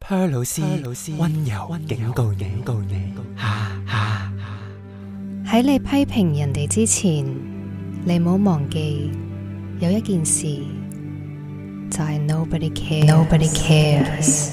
Her 老師溫柔警告你， 喺你批評人哋之前，你唔好忘記有一件事，就係 nobody cares。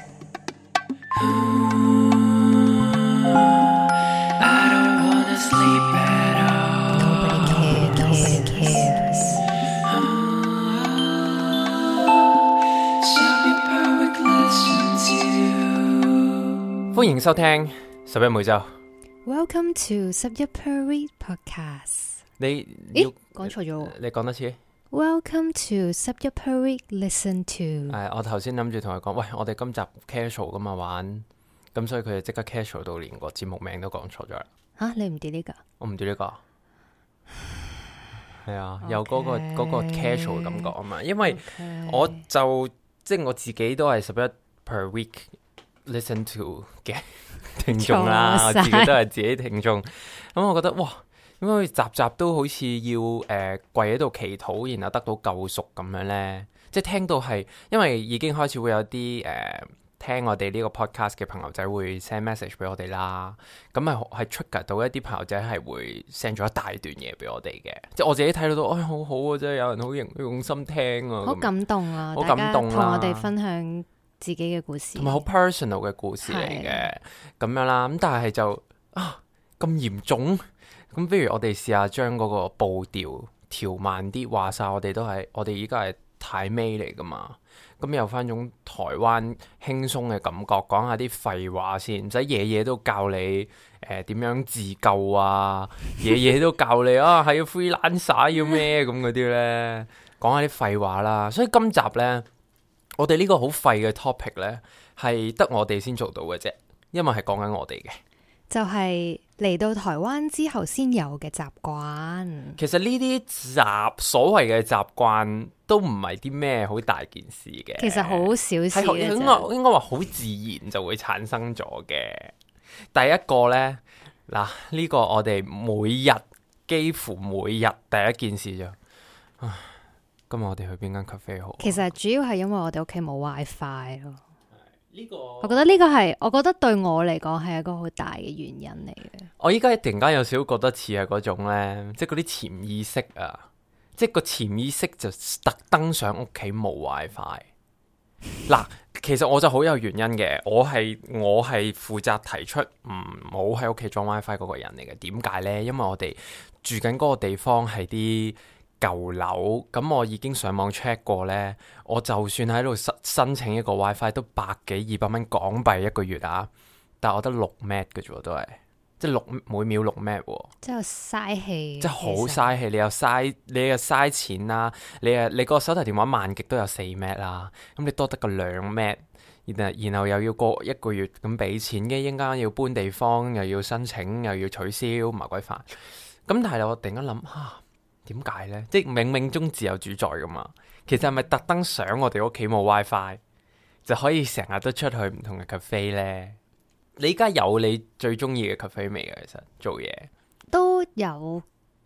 歡迎收聽十一每週。 Welcome to 11 per week podcast。 你講錯咗。 你講多次。 Welcome to 11 per week listen to。 我頭先諗住同佢講，喂，我哋今集 casual 噶嘛玩，咁所以佢就即刻 casual 到連個節目名都講錯咗啦。 吓，你唔跌呢個？ 我唔知呢個。係啊，有嗰個 casual 感覺啊嘛，因為我就即係我自己都係11 per week listen to 嘅聽眾啦，我自己都係自己聽眾，咁我覺得哇，點解集集都好似要跪喺度祈禱，然後得到救贖咁樣呢？即係聽到係，因為已經開始會有啲聽我哋呢個 podcast 嘅朋友仔會 send message 俾我哋啦，咁係 trigger 到一啲朋友仔係會 send 咗一大段嘢俾我哋嘅，即係我自己睇到好好啊，真係有人好用心聽啊， 好感動啊， 好感動啊， 同我哋分享自己嘅故事， 同埋好 personal 嘅故事嚟嘅，咁樣啦，咁但係就咁嚴重，咁不如我哋試下將嗰個步調調慢啲，話晒我哋依家係太尾嚟噶嘛，咁有翻種台灣輕鬆嘅感覺，講下啲廢話先，唔使夜夜都教你點樣自救啊，夜夜都教你係要 freelancer 要咩咁嗰啲呢，講下啲廢話啦，所以今集呢，我哋呢個好廢嘅 topic 呢，係得我哋先做到嘅啫，因為係講緊我哋嘅，就係嚟到台灣之後先有嘅習慣。 其實呢啲所謂嘅習慣都唔係啲咩好大件事嘅，其實好小事嘅啫，應該話好自然就會產生咗嘅。第一個呢，嗱，呢個我哋幾乎每日第一件事就今日我哋去邊間 cafe 好？ 其實主要係因為我哋屋企冇 WiFi 咯。我覺得呢個係，我覺得對我嚟講係一個好大嘅原因嚟嘅。 我依家突然間有少少覺得似係嗰種呢，即係嗰啲潛意識啊，即係個潛意識就特登上屋企冇 WiFi。嗱，其實我就好有原因嘅，我係負責提出唔好喺屋企裝 WiFi 嗰個人嚟嘅。點解呢？因為我哋住緊嗰個地方係啲舊樓，咁我已經上網 check 過呢，我就算喺度申請一個 WiFi 都100幾200蚊港幣一個月啊，但係我得6 Mbps 嘅啫，都係即係每秒6 Mbps，即係嘥氣，即係好嘥氣，你又嘥錢啦，你個手提電話慢極都有4 Mbps 啦，咁你多得個2 Mbps，然後又要過一個月咁俾錢，嘅應該要搬地方，又要申請，又要取消，麻鬼煩。咁但係我突然間諗點解呢？即係冥冥中自有主宰噶嘛？其實係咪特登想我哋屋企冇 WiFi 就可以成日都出去唔同嘅 cafe 呢？你依家有你最中意嘅 cafe 未啊？其實做嘢都有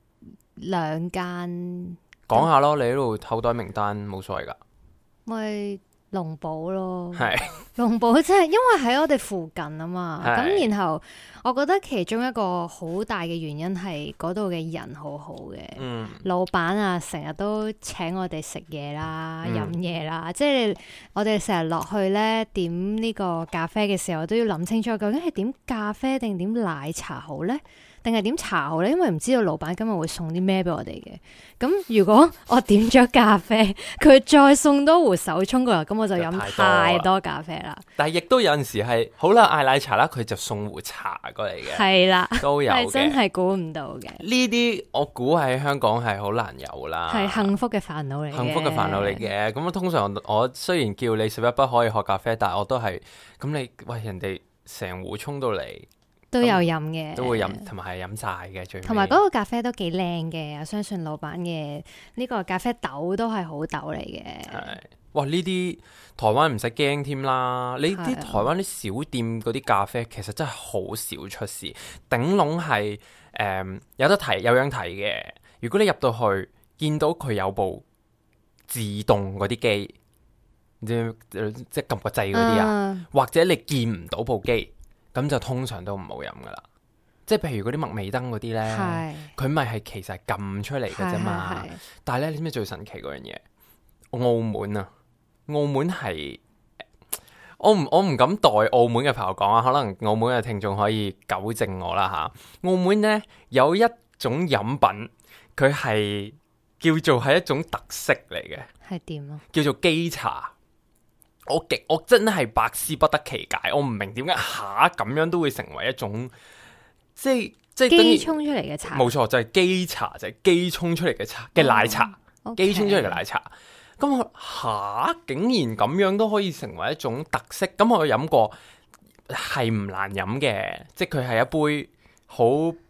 2間， 講下咯。你喺度口袋名單冇所謂噶， 咪龍寶咯， 係龍寶，即係因為喺我哋附近啊嘛。咁然後我覺得其中一個好大嘅原因係嗰度嘅人好好嘅，老闆啊成日都請我哋食嘢啦、飲嘢啦，即係我哋成日落去呢點呢個咖啡嘅時候都要諗清楚，究竟係點咖啡定點奶茶好呢？定係點茶好呢？因為唔知道老闆今日會送啲咩俾我哋嘅。咁如果我點咗咖啡，佢再送多壺手沖過嚟，咁我就飲太多咖啡啦。 但係亦都有陣時係好啦，嗌奶茶啦，佢就送壺茶過嚟嘅。係啦，都有嘅， 係真係估唔到嘅。 呢啲我估喺香港係好難有啦，係幸福嘅煩惱嚟嘅。 幸福嘅煩惱嚟嘅。咁通常我雖然叫你11不可以喝咖啡，但係我都係咁你人哋成壺沖到嚟。都有飲嘅，都會飲，同埋係飲晒嘅最。同埋嗰個咖啡都幾靚嘅，我相信老闆嘅呢個咖啡豆都係好豆嚟嘅。 係，哇！呢啲台灣唔使驚添啦，你啲台灣啲小店嗰啲咖啡其實真係好少出事，頂籠係有得提有樣睇嘅。如果你入到去見到佢有部自動嗰啲機， 即係撳個掣嗰啲啊，或者你見唔到部機，咁就通常都唔好飲噶啦。即係譬如嗰啲麥味登嗰啲咧，佢咪係其實係撳出嚟嘅啫嘛。但係咧，你知唔知最神奇嗰樣嘢？澳門啊，澳門係我唔敢代澳門嘅朋友講啊，可能澳門嘅聽眾可以糾正我啦吓。澳門咧有一種飲品，佢係叫做係一種特色嚟嘅， 係點啊？ 叫做基茶。我真係百思不得其解，我唔明點解咁樣都會成為一種即係機沖出嚟嘅茶。 冇錯，就係基茶，就係機沖出嚟嘅茶嘅奶茶，機沖出嚟嘅奶茶。咁我竟然咁樣都可以成為一種特色。咁我飲過係唔難飲嘅，即係佢係一杯好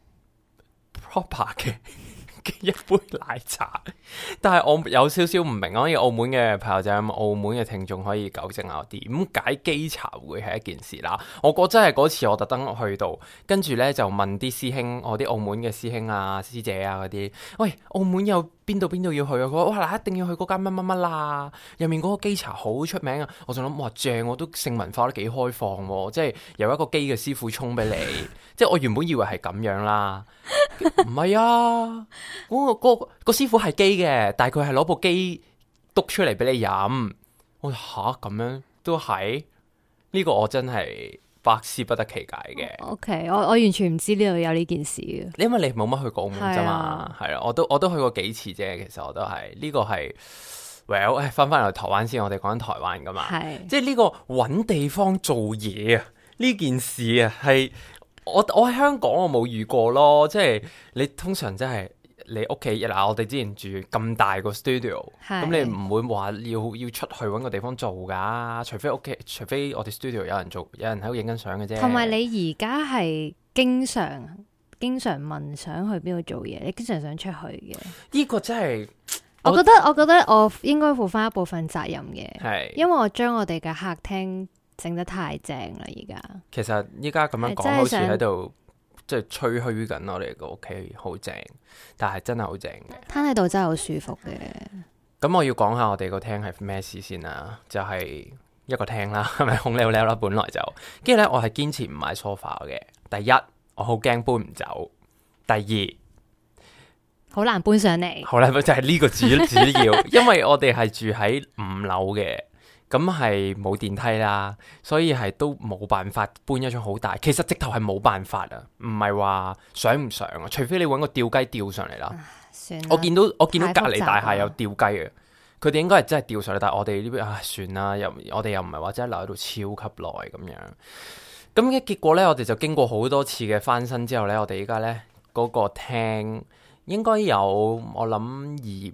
proper 嘅一杯奶茶。但係我有少少唔明，可以澳門嘅朋友仔、澳門嘅聽眾可以糾正下我，點解基茶會係一件事啦？我覺得真係嗰次我特登去到，跟住呢就問啲師兄，我啲澳門嘅師兄啊、師姐啊嗰啲，喂，澳門有邊度要去啊？佢話哇嗱，一定要去嗰間乜乜乜啦，入面嗰個基茶好出名啊！我仲諗哇正，我都性文化都幾開放喎，即係由一個機嘅師傅沖俾你，即係我原本以為係咁樣啦，唔係啊，個師傅係機嘅，但係佢係攞部機篤出嚟俾你飲。我吓咁樣都係呢個，我真係百思不得其解嘅。 OK， 我完全唔知呢度有呢件事嘅， 因為你冇乜去過澳門啫嘛，係啦，我都去過幾次啫。其實我都係呢個係 well， 翻嚟台灣先，我哋講緊台灣噶嘛，即係呢個搵地方做嘢啊，呢件事啊係我喺香港我冇遇過咯，即係你通常真係。你屋企嗱，我哋之前住咁大個 studio， 咁你唔會話要出去揾個地方做噶，除非我哋 studio 有人做，有人喺度影緊相嘅啫。同埋你而家係經常問想去邊度做嘢，你經常想出去嘅。 呢個真係， 我覺得我應該負翻一部分責任嘅，係因為我將我哋嘅客廳整得太正啦。而家其實依家咁樣講，好似喺度。即係吹噓緊我哋個屋企好正，但係真係好正嘅。攤喺度真係好舒服嘅。 咁我要講下我哋個廳係咩事先啦，就係一個廳啦，係咪空溜溜啦？本來就，跟住咧我係堅持唔買 sofa 嘅。第一，我好驚搬唔走；第二， 好難搬上嚟。 好難搬就係呢個主要，因為我哋係住喺5樓嘅。咁係冇電梯啦，所以係都冇辦法搬一張好大。其實直頭係冇辦法啊，唔係話想唔想啊，除非你揾個吊機吊上嚟啦。我見到隔離大廈有吊機嘅，佢哋應該係真係吊上嚟，但係我哋呢邊算啦，我哋又唔係話真係留喺度超級耐咁樣。咁嘅結果呢，我哋就經過好多次嘅翻新之後呢，我哋依家呢嗰個廳應該有我諗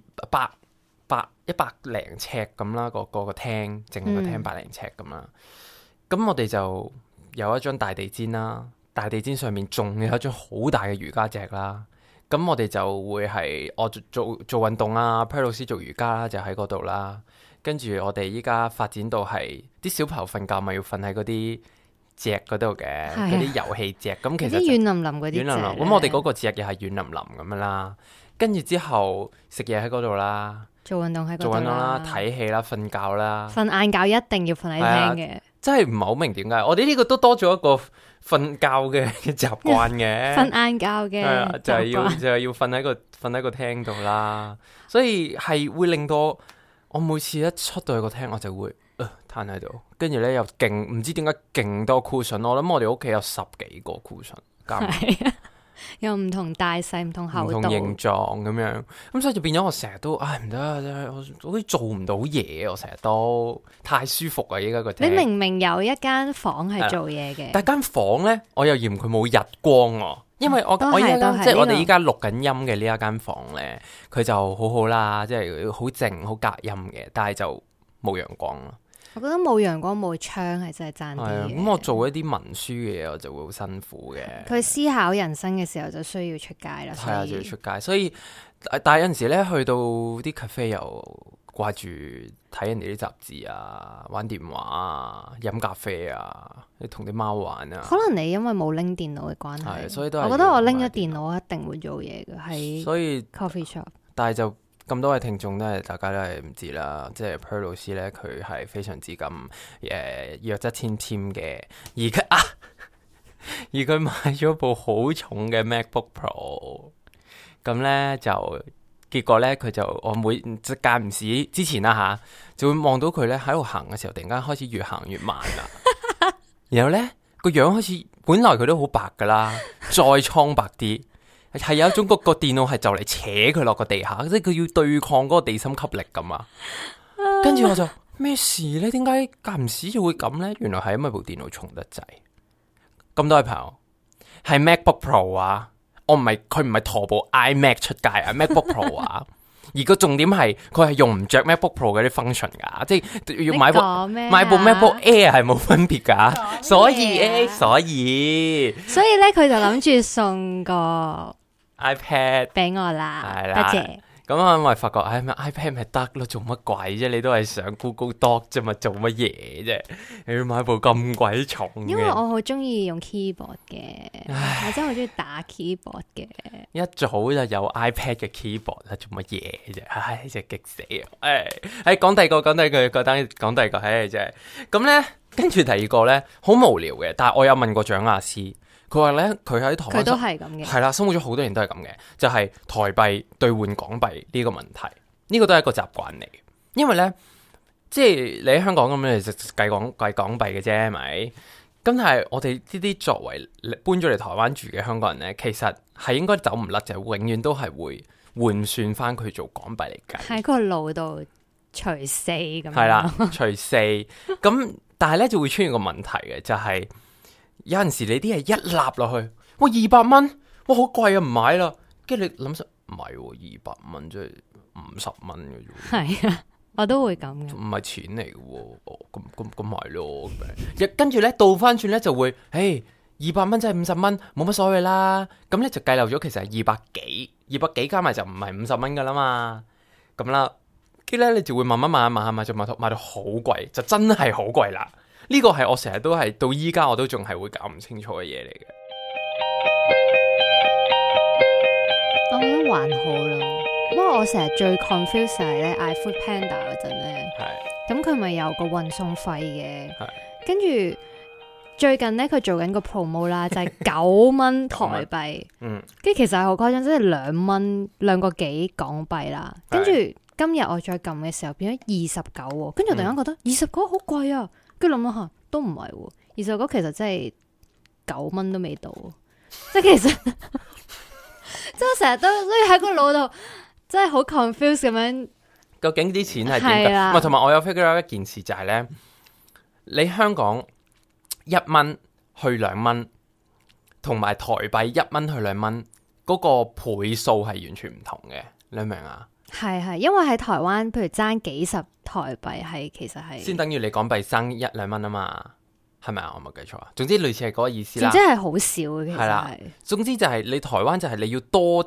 100零尺咁啦，個廳，淨係個廳100零尺咁啦。咁我哋就有一張大地氈啦，大地氈上面仲有一張好大嘅瑜伽席啦。咁我哋就會係我做運動啦，Pear 老師做瑜伽啦，就喺嗰度啦。跟住我哋依家發展到係啲小朋友瞓覺咪要瞓喺嗰啲席嗰度嘅，嗰啲遊戲席。咁其實軟腍腍嗰啲， 咁我哋嗰個席又係軟腍腍咁樣啦。跟住之後食嘢喺嗰度啦。 做運動喺嗰度啦， 睇戲啦，瞓覺啦， 瞓晏覺一定要瞓喺廳嘅， 真係唔係好明點解我哋呢個都多咗一個瞓覺嘅習慣嘅， 瞓晏覺嘅， 就係要瞓喺個廳度啦，所以係會令到我每次一出到去個廳，我就會攤喺度，跟住咧又勁唔知點解勁多 cushion， 我諗我哋屋企有10幾個 cushion， 有唔同大細、唔同厚度、 唔同形狀咁樣，咁所以就變咗我成日都唔得，我好似做唔到嘢，我成日都太舒服啊！依家個廳， 你明有一間房係做嘢嘅， 但係間房咧，我又嫌佢冇日光喎，因為我依家即係我哋依家錄緊音嘅呢一間房咧，佢就好好啦，即係好靜、好隔音嘅，但係就冇陽光咯。 我覺得冇陽光冇窗係真係爭啲嘅。 咁我做一啲文書嘅嘢，我就會好辛苦嘅。 佢思考人生嘅時候就需要出街啦。係啊， 就要出街。所以，但係有陣時咧，去到啲 cafe 又掛住睇人哋啲雜誌啊，玩電話啊，飲咖啡啊，你同啲貓玩啊。 可能你因為冇拎電腦嘅關係， 所以都係。 我覺得我拎咗電腦一定會做嘢嘅，喺所以 coffee shop。 但係就咁多位聽眾大家都係唔知啦，即係 Per 老師咧，佢係非常之咁弱質纖纖嘅，而佢買咗部好重嘅 MacBook Pro， 咁咧就結果咧佢就我即間唔時之前啦吓，就會望到佢咧喺度行嘅時候，突然間開始越行越慢啦，然後咧個樣開始本來佢都好白噶啦，再蒼白啲。係有一種個電腦係就嚟扯佢落個地下，即係佢要對抗嗰個地心吸力咁啊！跟住我就咩事呢？點解間唔時就會咁呢？原來係因為部電腦重得滯。咁多位朋友，係 MacBook Pro 啊，佢唔係駝部 iMac 出街啊，MacBook Pro 啊。而個重點係佢係用唔着 MacBook Pro 嗰啲 function 噶，即係要買部 MacBook Air 係冇分別噶，所以咧佢就諗住送個 iPad 俾我啦，多謝。咁我咪發覺iPad 咪得咯，做乜鬼啫？你都係上 Google Doc 啫嘛，做乜嘢啫？你要買部咁鬼重嘅？因為我好中意用 keyboard 嘅，我真係好中意打 keyboard 嘅。一早就有 iPad 嘅 keyboard 啦，做乜嘢啫？唉，真係激死我！講第二個，講第二個，真係咁咧。跟住第二個咧，好無聊嘅，但係我有問過蔣亞師。佢話咧，佢喺台灣，佢都係咁嘅，係啦，生活咗好多年都係咁嘅，就係台幣兌換港幣呢個問題，呢個都係一個習慣嚟。因為咧，即係你喺香港咁樣，就計港幣嘅啫，係咪？咁但係我哋呢啲作為搬咗嚟台灣住嘅香港人咧，其實係應該走唔甩，就係永遠都係會換算翻佢做港幣嚟計，喺個腦度除四咁。係啦，除四咁，但係咧就會出現個問題嘅，就係。有陣時你啲係一納落去，哇200蚊，哇好貴啊，唔買啦。跟住你諗實唔係200蚊，即係50蚊嘅啫。係啊，我都會咁嘅，唔係錢嚟嘅喎。咁咪咯。跟住咧倒翻轉咧就會，200蚊即係50蚊，冇乜所謂啦。咁咧就計漏咗，其實係200幾加埋就唔係50蚊噶啦嘛。咁啦，跟住咧你就會慢慢買，就買到好貴，就真係好貴啦。呢個係我成日都係到依家我都仲係會搞唔清楚嘅嘢嚟嘅。我覺得還好啦，不過我成日最 confuse 係咧嗌 Food Panda 嗰陣咧，咁佢咪有個運送費嘅，跟住最近咧佢做緊個 promo 啦，就係9蚊台幣，跟住其實係好誇張，即係2個幾港幣啦。跟住今日我再撳嘅時候變咗29，跟住突然間覺得29好貴啊！跟住諗下都唔係喎，29其實真係9蚊都未到，即係其實即係我成日都所以喺個腦度真係好 confuse 咁樣。究竟啲錢係點㗎？唔係，同埋我有 figure out 一件事就係咧，你香港1蚊去2蚊，同埋台幣1蚊去2蚊，嗰個倍數係完全唔同嘅，你明啊？係，因為喺台灣，譬如爭幾十台幣係其實係先等於你港幣爭1-2蚊啊嘛，係咪啊？我冇記錯啊。總之類似係嗰個意思啦。總之係好少嘅，其實係啦。總之就係你台灣就係你要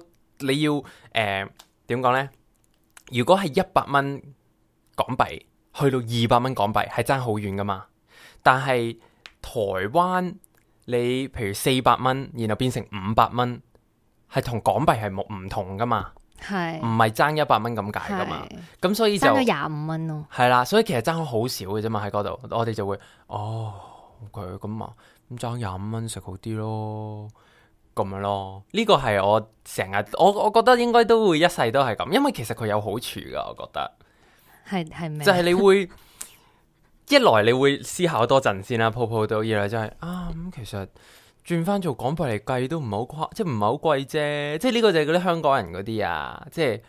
點講咧？如果係100蚊港幣去到200蚊港幣係爭好遠噶嘛，但係台灣你譬如400蚊，然後變成500蚊，係同港幣係唔同噶嘛。係唔係爭100蚊咁解噶嘛？咁所以就爭咗25蚊咯。係啦，所以其實爭好少嘅啫嘛。喺嗰度，我哋就會佢咁啊，咁爭25蚊食好啲咯，咁樣咯。呢個係我成日我覺得應該都會一世都係咁，因為其實佢有好處噶。我覺得係咩？就係你會一來你會思考多陣先啦，鋪到二來就係咁其實。轉翻做港幣嚟計都唔係好誇，即係唔係好貴啫。即係呢個就係嗰啲香港人嗰啲啊，即係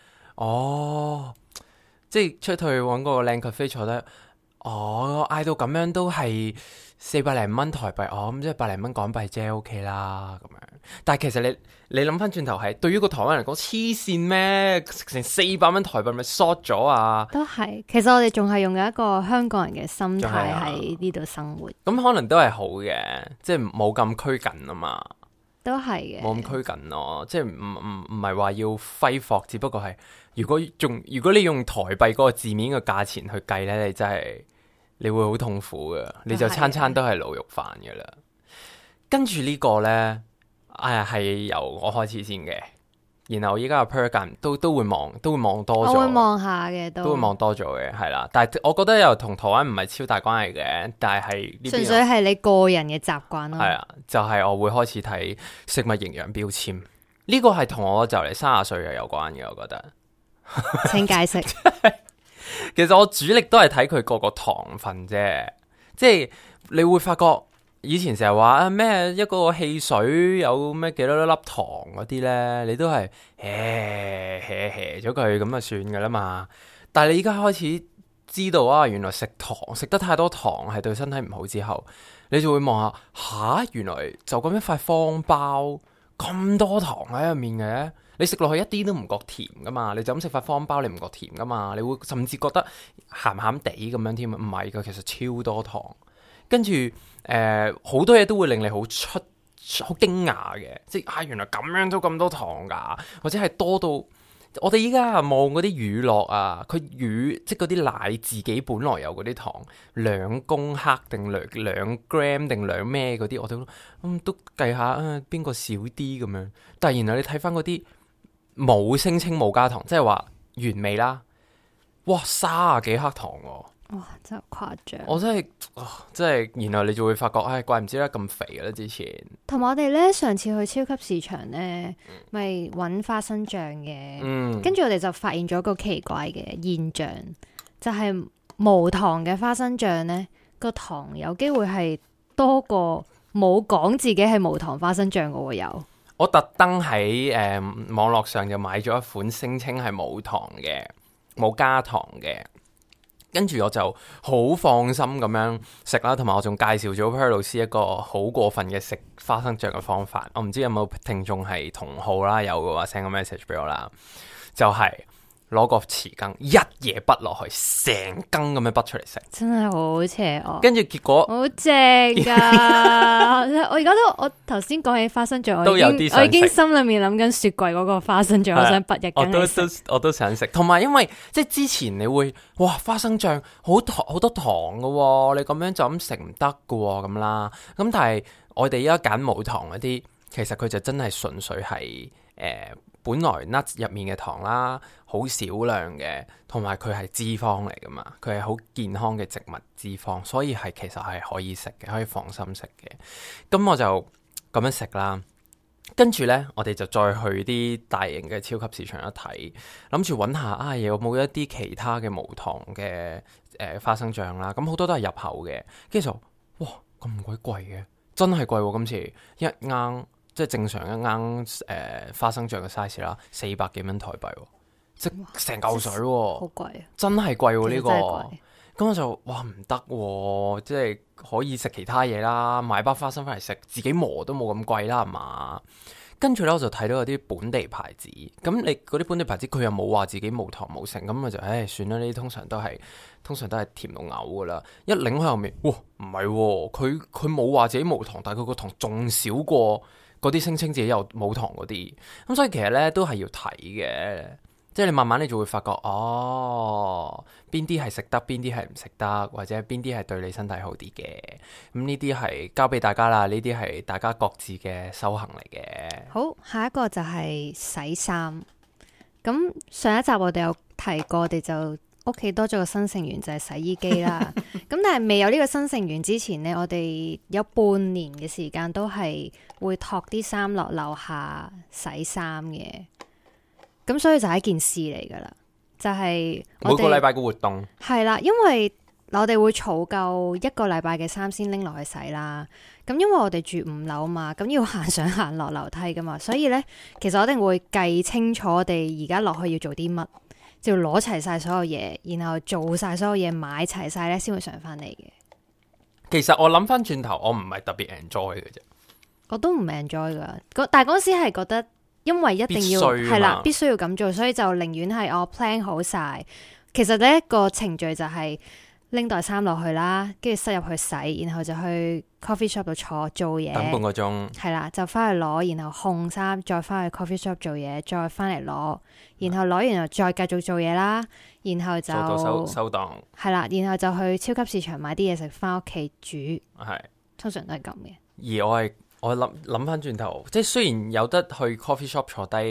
即係出去搵嗰個靚 cafe 坐低，嗌到咁樣都係400零蚊台幣，咁即係100零蚊港幣啫，OK 啦咁樣。但係其實你諗翻轉頭係，對於個台灣人嚟講黐線咩？成400蚊台幣咪 short 咗啊！都係，其實我哋仲係用一個香港人嘅心態喺呢度生活，咁可能都係好嘅，即係冇咁拘謹啊嘛。都係嘅，冇咁拘謹咯，即係唔係話要揮霍，只不過係如果你用台幣嗰個字面嘅價錢去計咧，你真係你會好痛苦嘅，你就餐餐都係滷肉飯嘅啦。跟住呢個咧。係由我開始先嘅， 然後依家個 per 都會望多咗， 我會望下嘅都會望多咗嘅，係啦。但係我覺得又同台灣唔係超大關係嘅，但係純粹係你個人嘅習慣咯。 係啊，就係我會開始睇食物營養標籤，呢個係同我就嚟30歲嘅有關嘅，我覺得。 請解釋。 其實我主力都係睇佢個糖分啫，即係你會發覺以前成日話咩一個汽水有咩幾多粒糖嗰啲呢，你都係咗佢咁就算噶啦嘛。但係你而家開始知道啊，原來食得太多糖係對身體唔好之後，你就會望下原來就咁一塊方包咁多糖喺入面嘅。你食落去一啲都唔覺甜噶嘛，你就咁食塊方包你唔覺甜噶嘛，你會甚至覺得鹹鹹地咁樣添，唔係噶，其實超多糖，跟住好多嘢都會令你好驚訝嘅，即係原來咁樣都咁多糖噶，或者係多到我哋依家望嗰啲乳酪啊，佢即係嗰啲奶自己本來有嗰啲糖2公克定兩 gram 定兩咩嗰啲，我都計下邊個少啲咁樣，但係然後你睇翻嗰啲。冇聲稱冇加糖，即係話原味啦。哇，30幾克糖喎！ 哇，真係誇張。 我真係，然後你就會發覺，怪唔知得咁肥嘅咧。之前同埋我哋咧，上次去超級市場咧，咪揾花生醬嘅。跟住我哋就發現咗一個奇怪嘅現象，就係無糖嘅花生醬咧，個糖有機會係多過冇講自己係無糖花生醬嘅喎有。 我特登喺網絡上就買咗一款聲稱係冇糖嘅，冇加糖嘅，跟住我就好放心咁樣食啦，同埋我仲介紹咗 Per 老師一個好過分嘅食花生醬嘅方法。我唔知有冇聽眾係同號啦，有嘅話 send 個 message 俾我啦，就係攞個匙羹一嘢滗落去，成羹咁樣滗出嚟食， 真係好邪惡。 跟住結果好正噶！我頭先講起花生醬，我已經心裏面諗緊雪櫃嗰個花生醬，我想滗一羹嚟食。 我都想食。同埋因為即係之前你會花生醬好多糖噶喎，你咁樣就咁食唔得噶喎咁啦。咁但係我哋而家揀無糖嗰啲，其實佢就真係純粹係本來 nuts 入面嘅糖啦，好少量嘅，同埋佢係脂肪嚟噶嘛，佢係好健康嘅植物脂肪，所以其實係可以食嘅，可以放心食嘅。咁我就咁樣食啦，跟住呢，我哋就再去啲大型嘅超級市場一睇，諗住揾下有冇一啲其他嘅無糖嘅花生醬啦。咁好多都係入口嘅，跟住就哇咁鬼貴嘅，真係貴喎！今次一啱。即係正常一啱花生醬嘅 size 啦，400幾蚊台幣，即成嚿水喎， 好貴啊！ 真係貴喎呢個。咁我就唔得，即係可以食其他嘢啦，買包花生翻嚟食，自己磨都冇咁貴啦，係嘛？跟住咧我就睇到有啲本地牌子，咁你嗰啲本地牌子佢又冇話自己無糖冇成，咁我就算啦，呢啲通常都係甜到嘔噶啦，一擰喺後面，哇唔係喎，佢冇話自己無糖，但係佢個糖仲少過嗰啲聲稱自己有冇糖嗰啲，咁所以其實咧都係要睇嘅，即係你慢慢你就會發覺邊啲係食得，邊啲係唔食得，或者邊啲係對你身體好啲嘅。咁呢啲係交俾大家啦，呢啲係大家各自嘅修行嚟嘅。 好，下一個就係洗衫。咁上一集我哋有提過，我哋就屋企多咗個新成員就係洗衣機啦。咁但係未有呢個新成員之前呢，我哋有半年嘅時間都係會托啲衫落樓下洗衫嘅。咁所以就係一件事嚟噶啦，就係每個禮拜嘅活動係啦，因為我哋會儲夠一個禮拜嘅衫先拎落去洗啦。咁因為我哋住5樓嘛，咁要行上行落樓梯噶嘛，所以呢，其實我一定會計清楚我哋而家落去要做啲乜，就要攞齊晒所有嘢，然後做晒所有嘢，買齊晒呢先會上翻嚟嘅。 其實我諗翻轉頭，我唔係特別 enjoy 嘅啫，我都唔 enjoy 噶。但係嗰時係覺得，因為一定要係啦，必須要咁做，所以就寧願係我 plan 好晒。其實呢個程序就係拎袋衫落去啦，跟住塞入去洗，然後就去 coffee shop 度做嘢， 等半個鐘， 係啦，就翻去攞，然後烘衫，再翻去 coffee shop 做嘢，再翻嚟攞，然後攞完又再繼續做嘢啦，然後就做到收檔，係啦，然後就去超級市場買啲嘢食，翻屋企煮， 係通常都係咁嘅。 而我諗翻轉頭，即係雖然有得去 coffee shop 坐低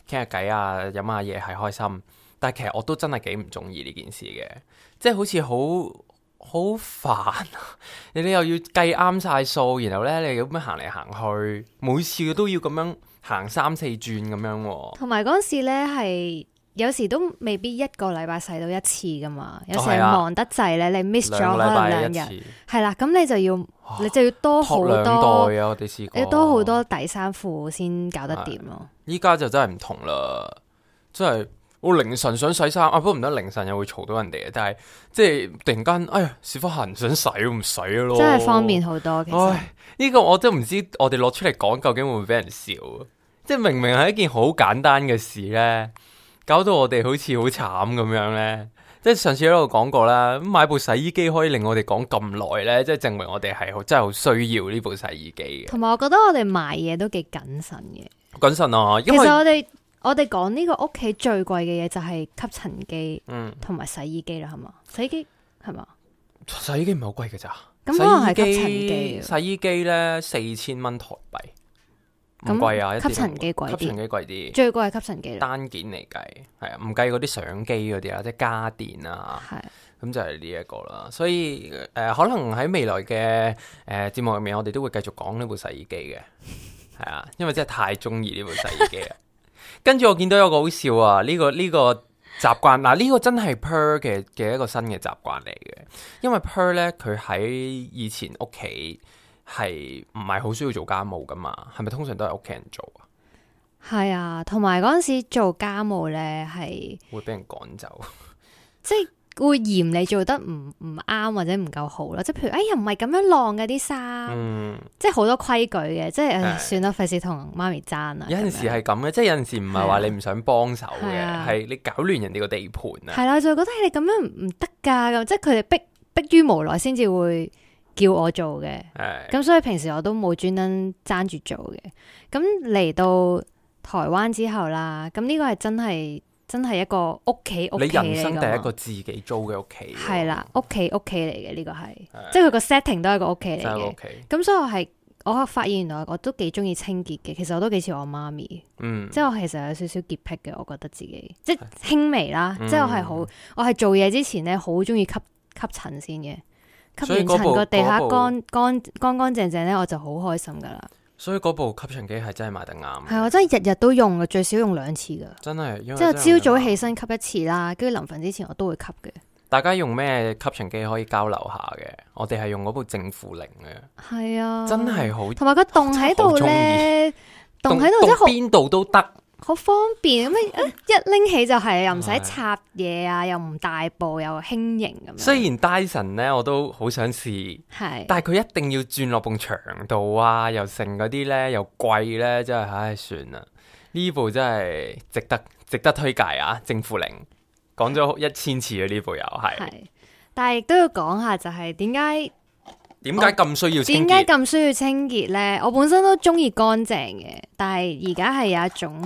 傾下偈啊，飲下嘢係開心。但係其實我都真係幾唔中意呢件事嘅，即係好似好煩啊！你又要計啱晒數，然後咧你咁樣行嚟行去，每次都要咁樣行3-4轉咁樣喎。 同埋嗰陣時咧係有時都未必一個禮拜洗到一次噶嘛，有時係忙得滯咧，你 miss 咗可能2日，係啦，咁你就要多好多 2袋啊！我哋試過， 你多好多底衫褲先搞得掂咯。 依家就真係唔同啦，真係。我凌晨想洗衫，不過唔得，凌晨又會嘈到人哋嘅。但係即係突然間，哎呀，屎忽痕想洗都唔洗咯， 真係方便好多。其實呢個我都唔知，我哋攞出嚟講究竟會唔會俾人笑？即係明明係一件好簡單嘅事咧，搞到我哋好似好慘咁樣咧。即係上次喺度講過啦，買部洗衣機可以令我哋講咁耐咧，即係證明我哋係真係好需要呢部洗衣機嘅。 同埋我覺得我哋買嘢都幾謹慎嘅。 謹慎啊，因為其實我哋講呢個屋企最貴嘅嘢就係吸塵機，同埋洗衣機啦，係嘛？洗衣機係嘛？ 洗衣機唔係好貴嘅咋？ 咁可能係吸塵機。 洗衣機咧4000蚊台幣，唔貴啊！ 吸塵機貴啲， 吸塵機貴啲， 最貴係吸塵機。 單件嚟計係啊，唔計嗰啲相機嗰啲啊，即係家電啊，咁就係呢一個啦。所以可能喺未來嘅節目入面，我哋都會繼續講呢部洗衣機嘅，係啊，因為真係太中意呢部洗衣機啊！跟住我見到有個好笑啊，呢個習慣嗱，呢個真係 Per 嘅一個新嘅習慣嚟嘅，因為 Per 咧佢喺以前屋企係唔係好需要做家務噶嘛，係咪通常都係屋企人做啊？ 係啊，同埋嗰陣時做家務咧係會俾人趕走， 即係會嫌你做得唔啱或者唔夠好啦，即係譬如又唔係咁樣晾嘅啲衫，即係好多規矩嘅，即係算啦，費事同媽咪爭啊。 有陣時係咁嘅，即係有陣時唔係話你唔想幫手嘅，係你搞亂人哋個地盤啊。係啦， 就覺得你咁樣唔得噶，咁即係佢哋逼於無奈先至會叫我做嘅。咁所以平時我都冇專登爭住做嘅。咁嚟到台灣之後啦，咁呢個係真係一個屋企嚟， 你人生第一個自己租嘅屋企， 係啦，屋企嚟嘅呢個係，即係佢個 setting 都係個屋企嚟嘅。咁所以我發現原來我都幾中意清潔嘅，其實我都幾似我媽咪，即係我其實有少少潔癖嘅，我覺得自己即係輕微啦，即係我係做嘢之前咧好中意吸塵先嘅，吸完塵個地下乾淨淨咧，我就好開心噶啦。 所以嗰部吸塵機係真係買得啱， 係我真係日日都用嘅，最少用2次噶， 真係。 即係朝早起身吸一次啦，跟住臨瞓之前我都會吸嘅。 大家用咩吸塵機可以交流下嘅？我哋係用嗰部正負零嘅，係啊，真係好，同埋個洞喺度咧，洞喺度即係邊度都得。 好方便咁一拎起就係，又唔使插嘢啊，又唔大部，又輕型咁樣。 雖然 Dyson 咧，我都好想試，但係佢一定要轉落埲牆度啊，又剩嗰啲咧，又貴咧，真係唉，算啦。呢部真係值得推介啊！正負零講咗1000次啊，呢部又係。 但係亦都要講下，就係點解咁需要清潔？ 點解咁需要清潔咧？我本身都中意乾淨嘅，但係而家係有一種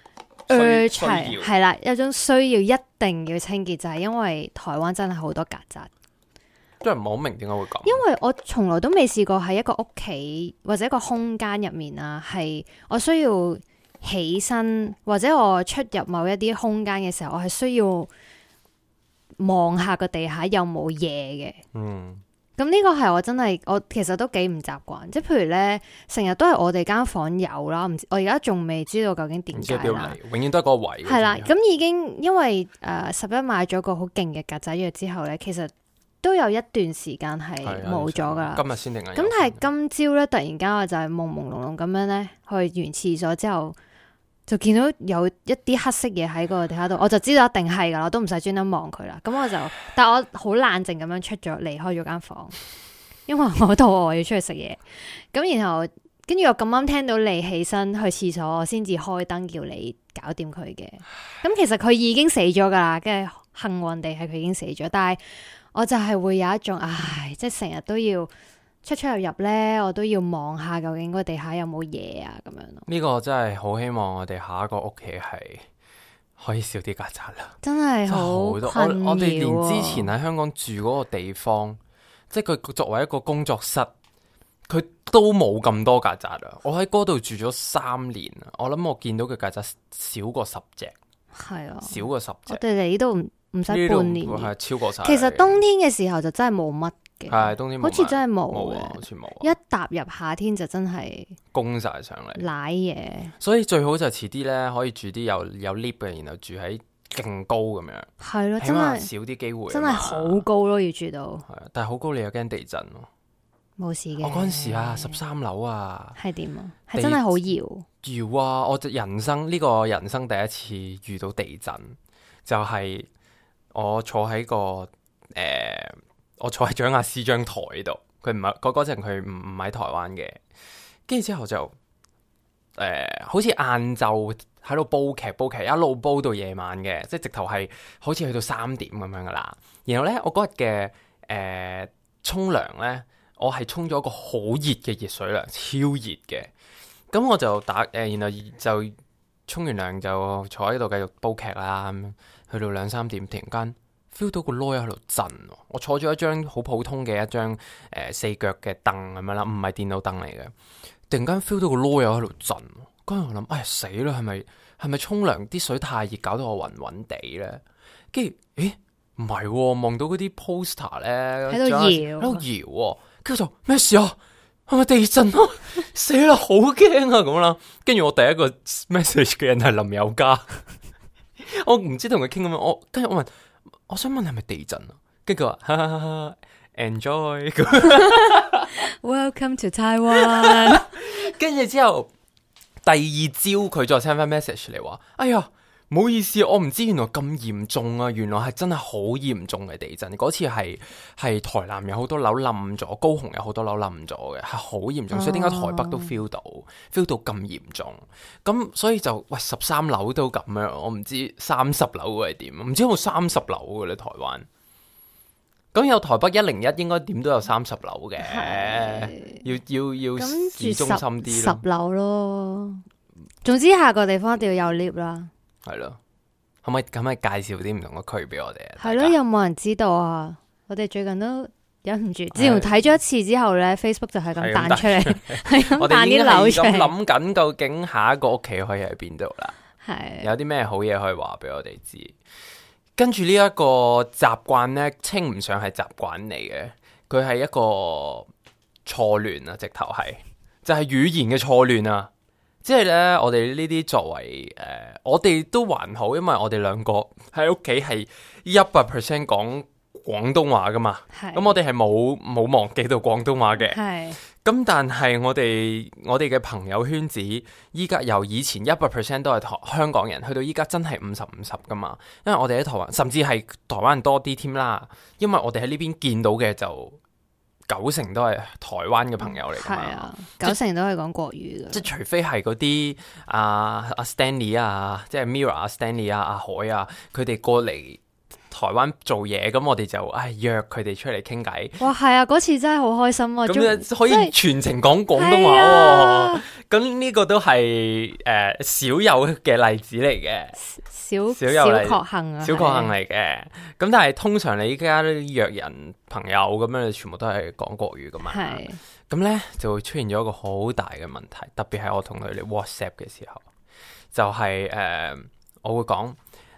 係啦，有種需要一定要清潔，就係因為台灣真係好多曱甴。 真係唔係好明點解會咁？ 因為我從來都未試過喺一個屋企或者一個空間入面啊，係我需要起身或者我出入某一啲空間嘅時候，我係需要望下個地下有冇嘢嘅。咁呢個係我其實都幾唔習慣，即係譬如咧，成日都係我哋間房有啦，我而家仲未知道究竟點解啦。 永遠都係嗰個位。 係啦，咁已經因為11買咗個好勁嘅曱甴藥之後咧，其實都有一段時間係冇咗噶啦。 今日先定。咁但係今朝咧，突然間我就係朦朦朧朧咁樣咧，去完廁所之後，就見到有一啲黑色嘢喺個地下度，我就知道一定係噶啦，我都唔使專登望佢啦。咁我就，但係我好冷靜咁樣離開咗間房，因為我肚餓，我要出去食嘢。咁然後跟住我咁啱聽到你起身去廁所，我先至開燈叫你搞掂佢嘅。咁其實佢已經死咗噶啦，跟住幸運地係佢已經死咗，但係我就係會有一種即係成日都要出入入咧，我都要望下究竟個地下有冇嘢啊，咁樣咯。 呢個真係好希望我哋下一個屋企係可以少啲曱甴啦。 真係好困擾。我哋連之前喺香港住嗰個地方，即係佢作為一個工作室，佢都冇咁多曱甴啊！我喺嗰度住咗3年啊，我諗我見到嘅曱甴少過10隻， 係啊， 少過10隻。 我哋嚟呢度唔使半年， 係超過晒。 其實冬天嘅時候就真係冇乜嘅， 係冬天冇乜， 好似真係冇嘅， 好似冇。 一踏入夏天就真係攻晒上嚟， 瀨嘢。 所以最好就遲啲咧，可以住啲有 lift 嘅，然後住喺勁高咁樣， 係咯， 起碼少啲機會。 真係好高咯，要住到。 係啊，但係好高你又驚地震咯。 冇事嘅。 我嗰陣時啊，13樓啊， 係點啊？係真係好搖。 搖啊！我呢個人生第一次遇到地震，就係我坐喺我坐喺蔣亞師張台度，佢唔係嗰陣佢唔喺台灣嘅，跟住之後就好似晏晝喺度煲劇，一路煲到夜晚嘅，即係直頭係好似去到3點咁樣噶啦。然後咧，我嗰日嘅沖涼咧，我係沖咗一個好熱嘅熱水涼，超熱嘅。咁我就然後就沖完涼就坐喺度繼續煲劇啦。去到2-3點，突然間 feel 到個籮喺度震。我坐咗一張好普通嘅一張4腳嘅凳咁樣啦，唔係電腦凳嚟嘅。突然間 feel 到個籮喺度震，跟住我諗，哎呀死啦，係咪沖涼啲水太熱，搞到我暈暈地咧？跟住，咦，唔係，望到嗰啲 poster 咧喺度搖，跟住就咩事啊？係咪地震啊？死啦，好驚啊咁啦！跟住我第一個 message 嘅人係林宥嘉，我唔知同佢傾咁樣，跟住我問，我想問係咪地震啊？跟住佢話，哈哈哈 ，enjoy，welcome to Taiwan。 跟住之後，第二朝佢再 send 翻 message 嚟話，哎呀，唔好意思，我唔知原來咁嚴重啊！原來係真係好嚴重嘅地震。嗰次係台南有好多樓冧咗，高雄有好多樓冧咗嘅，係好嚴重。所以點解台北都 feel 到咁嚴重？咁所以就喂13樓都咁樣，我唔知30樓會係點，唔知有冇30樓嘅咧台灣。咁有台北101應該點都有30樓嘅，要市中心啲咯。 10樓咯，總之下個地方一定要有 lift 啦。 係咯，可唔可以介紹啲唔同嘅區俾我哋啊？ 係咯，有冇人知道啊？我哋最近都忍唔住，自從睇咗一次之後咧，Facebook 就係咁彈出嚟，係咁彈啲樓出嚟。 咁諗緊究竟下一個屋企可以喺邊度啦？ 係有啲咩好嘢可以話俾我哋知？跟住呢一個習慣咧，稱唔上係習慣嚟嘅，佢係一個錯亂啊！直頭係就係語言嘅錯亂啊！即係咧，我哋呢啲作為我哋都還好，因為我哋兩個喺屋企係100% 講廣東話噶嘛。咁我哋係冇忘記到廣東話嘅。咁但係我哋嘅朋友圈子依家由以前100% 都係香港人，去到依家真係50-50噶嘛。因為我哋喺台灣，甚至係台灣人多啲添啦。因為我哋喺呢邊見到嘅就90%都係台灣嘅朋友嚟㗎嘛。係啊 ，90%都係講國語嘅。即係除非係嗰啲阿 Stanley 啊，即係 Mirror 啊 Stanley 啊阿海啊，佢哋過嚟台灣做嘢，咁我哋就約佢哋出嚟傾偈。哇，係啊， 嗰次真係好開心啊！ 咁可以全程講廣東話喎。咁呢個都係少有嘅例子嚟嘅。小確幸啊，小確幸嚟嘅。咁但係通常你依家約人朋友咁樣，你全部都係講國語噶嘛。係。咁咧就會出現咗一個好大嘅問題，特別係我同佢哋 WhatsApp 嘅時候，就係我會講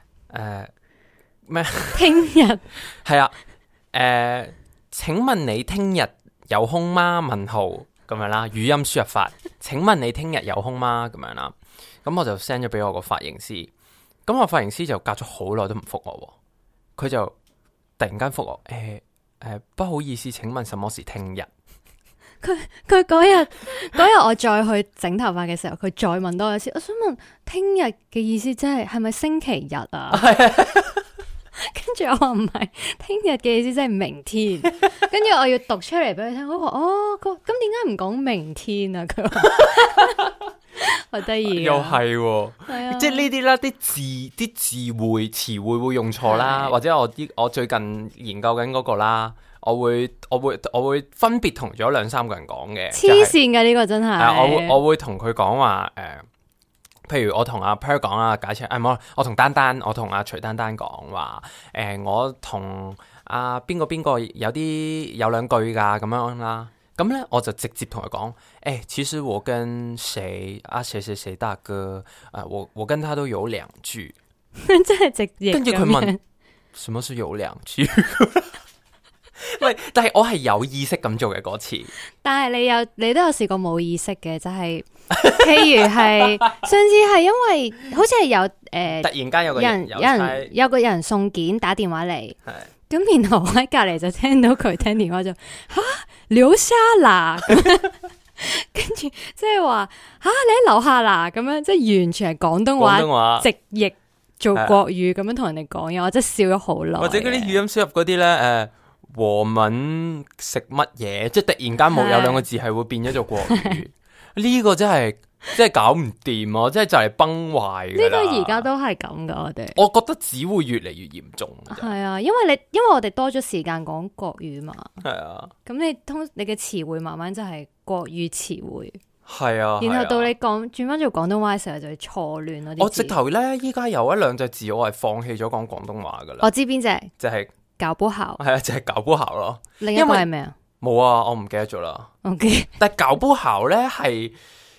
咩？ 聽日係啊，請問你聽日有空嗎？問號咁樣啦，語音輸入法。請問你聽日有空嗎？咁樣啦，咁我就 send 咗俾我個髮型師。咁我髮型師就隔咗好耐都唔覆我，佢就突然間覆我，不好意思，請問什麼是聽日？ 佢嗰日我再去整頭髮嘅時候，佢再問多一次，我想問聽日嘅意思即係咪星期日啊？跟住我話唔係，聽日嘅意思即係明天。跟住我要讀出嚟俾佢聽，我話咁點解唔講明天啊？佢話好得意， 又係即係呢啲啦，啲詞彙會用錯啦，或者我最近研究緊嗰個啦，我會分別同咗2-3個人講嘅。 黐線嘅呢個真係， 我會同佢講話譬如我同阿 Per 講啦，假設我同丹丹，我同阿徐丹丹講話，我同阿邊個有2句噶咁樣啦。 咁咧我就直接同佢講，其實我跟誰啊誰誰誰大哥我跟他都有2句， 真係直譯。 跟住佢問什麼是有2句？喂，但係我係有意識咁做嘅嗰次。 但係你都有試過冇意識嘅，就係、譬如係上次係因為好似係有突然間有個人送件打電話嚟，咁然後我喺隔籬就聽到佢聽電話就留下啦，跟住即係話你喺樓下啦，咁樣即係完全係廣東話直譯做國語咁樣同人哋講嘢，我真係笑咗好耐。 或者嗰啲語音輸入嗰啲咧，和文食乜嘢，即係突然間冇有2個字係會變咗做國語，呢個真係搞唔掂啊！即係就嚟崩壞㗎啦。呢個而家都係咁噶， 我覺得只會越嚟越嚴重。 係啊，因為我哋多咗時間講國語嘛。係啊，咁你嘅詞彙慢慢就係國語詞彙。係啊，然後到你轉翻做廣東話嘅時候就係錯亂咯。我直頭咧，依家有1-2隻字我係放棄咗講廣東話噶啦。 我知邊隻， 就係搞不好。 係啊，就係搞不好咯。 另一個係咩啊？ 冇啊，我唔記得咗啦。OK， 但係搞不好咧係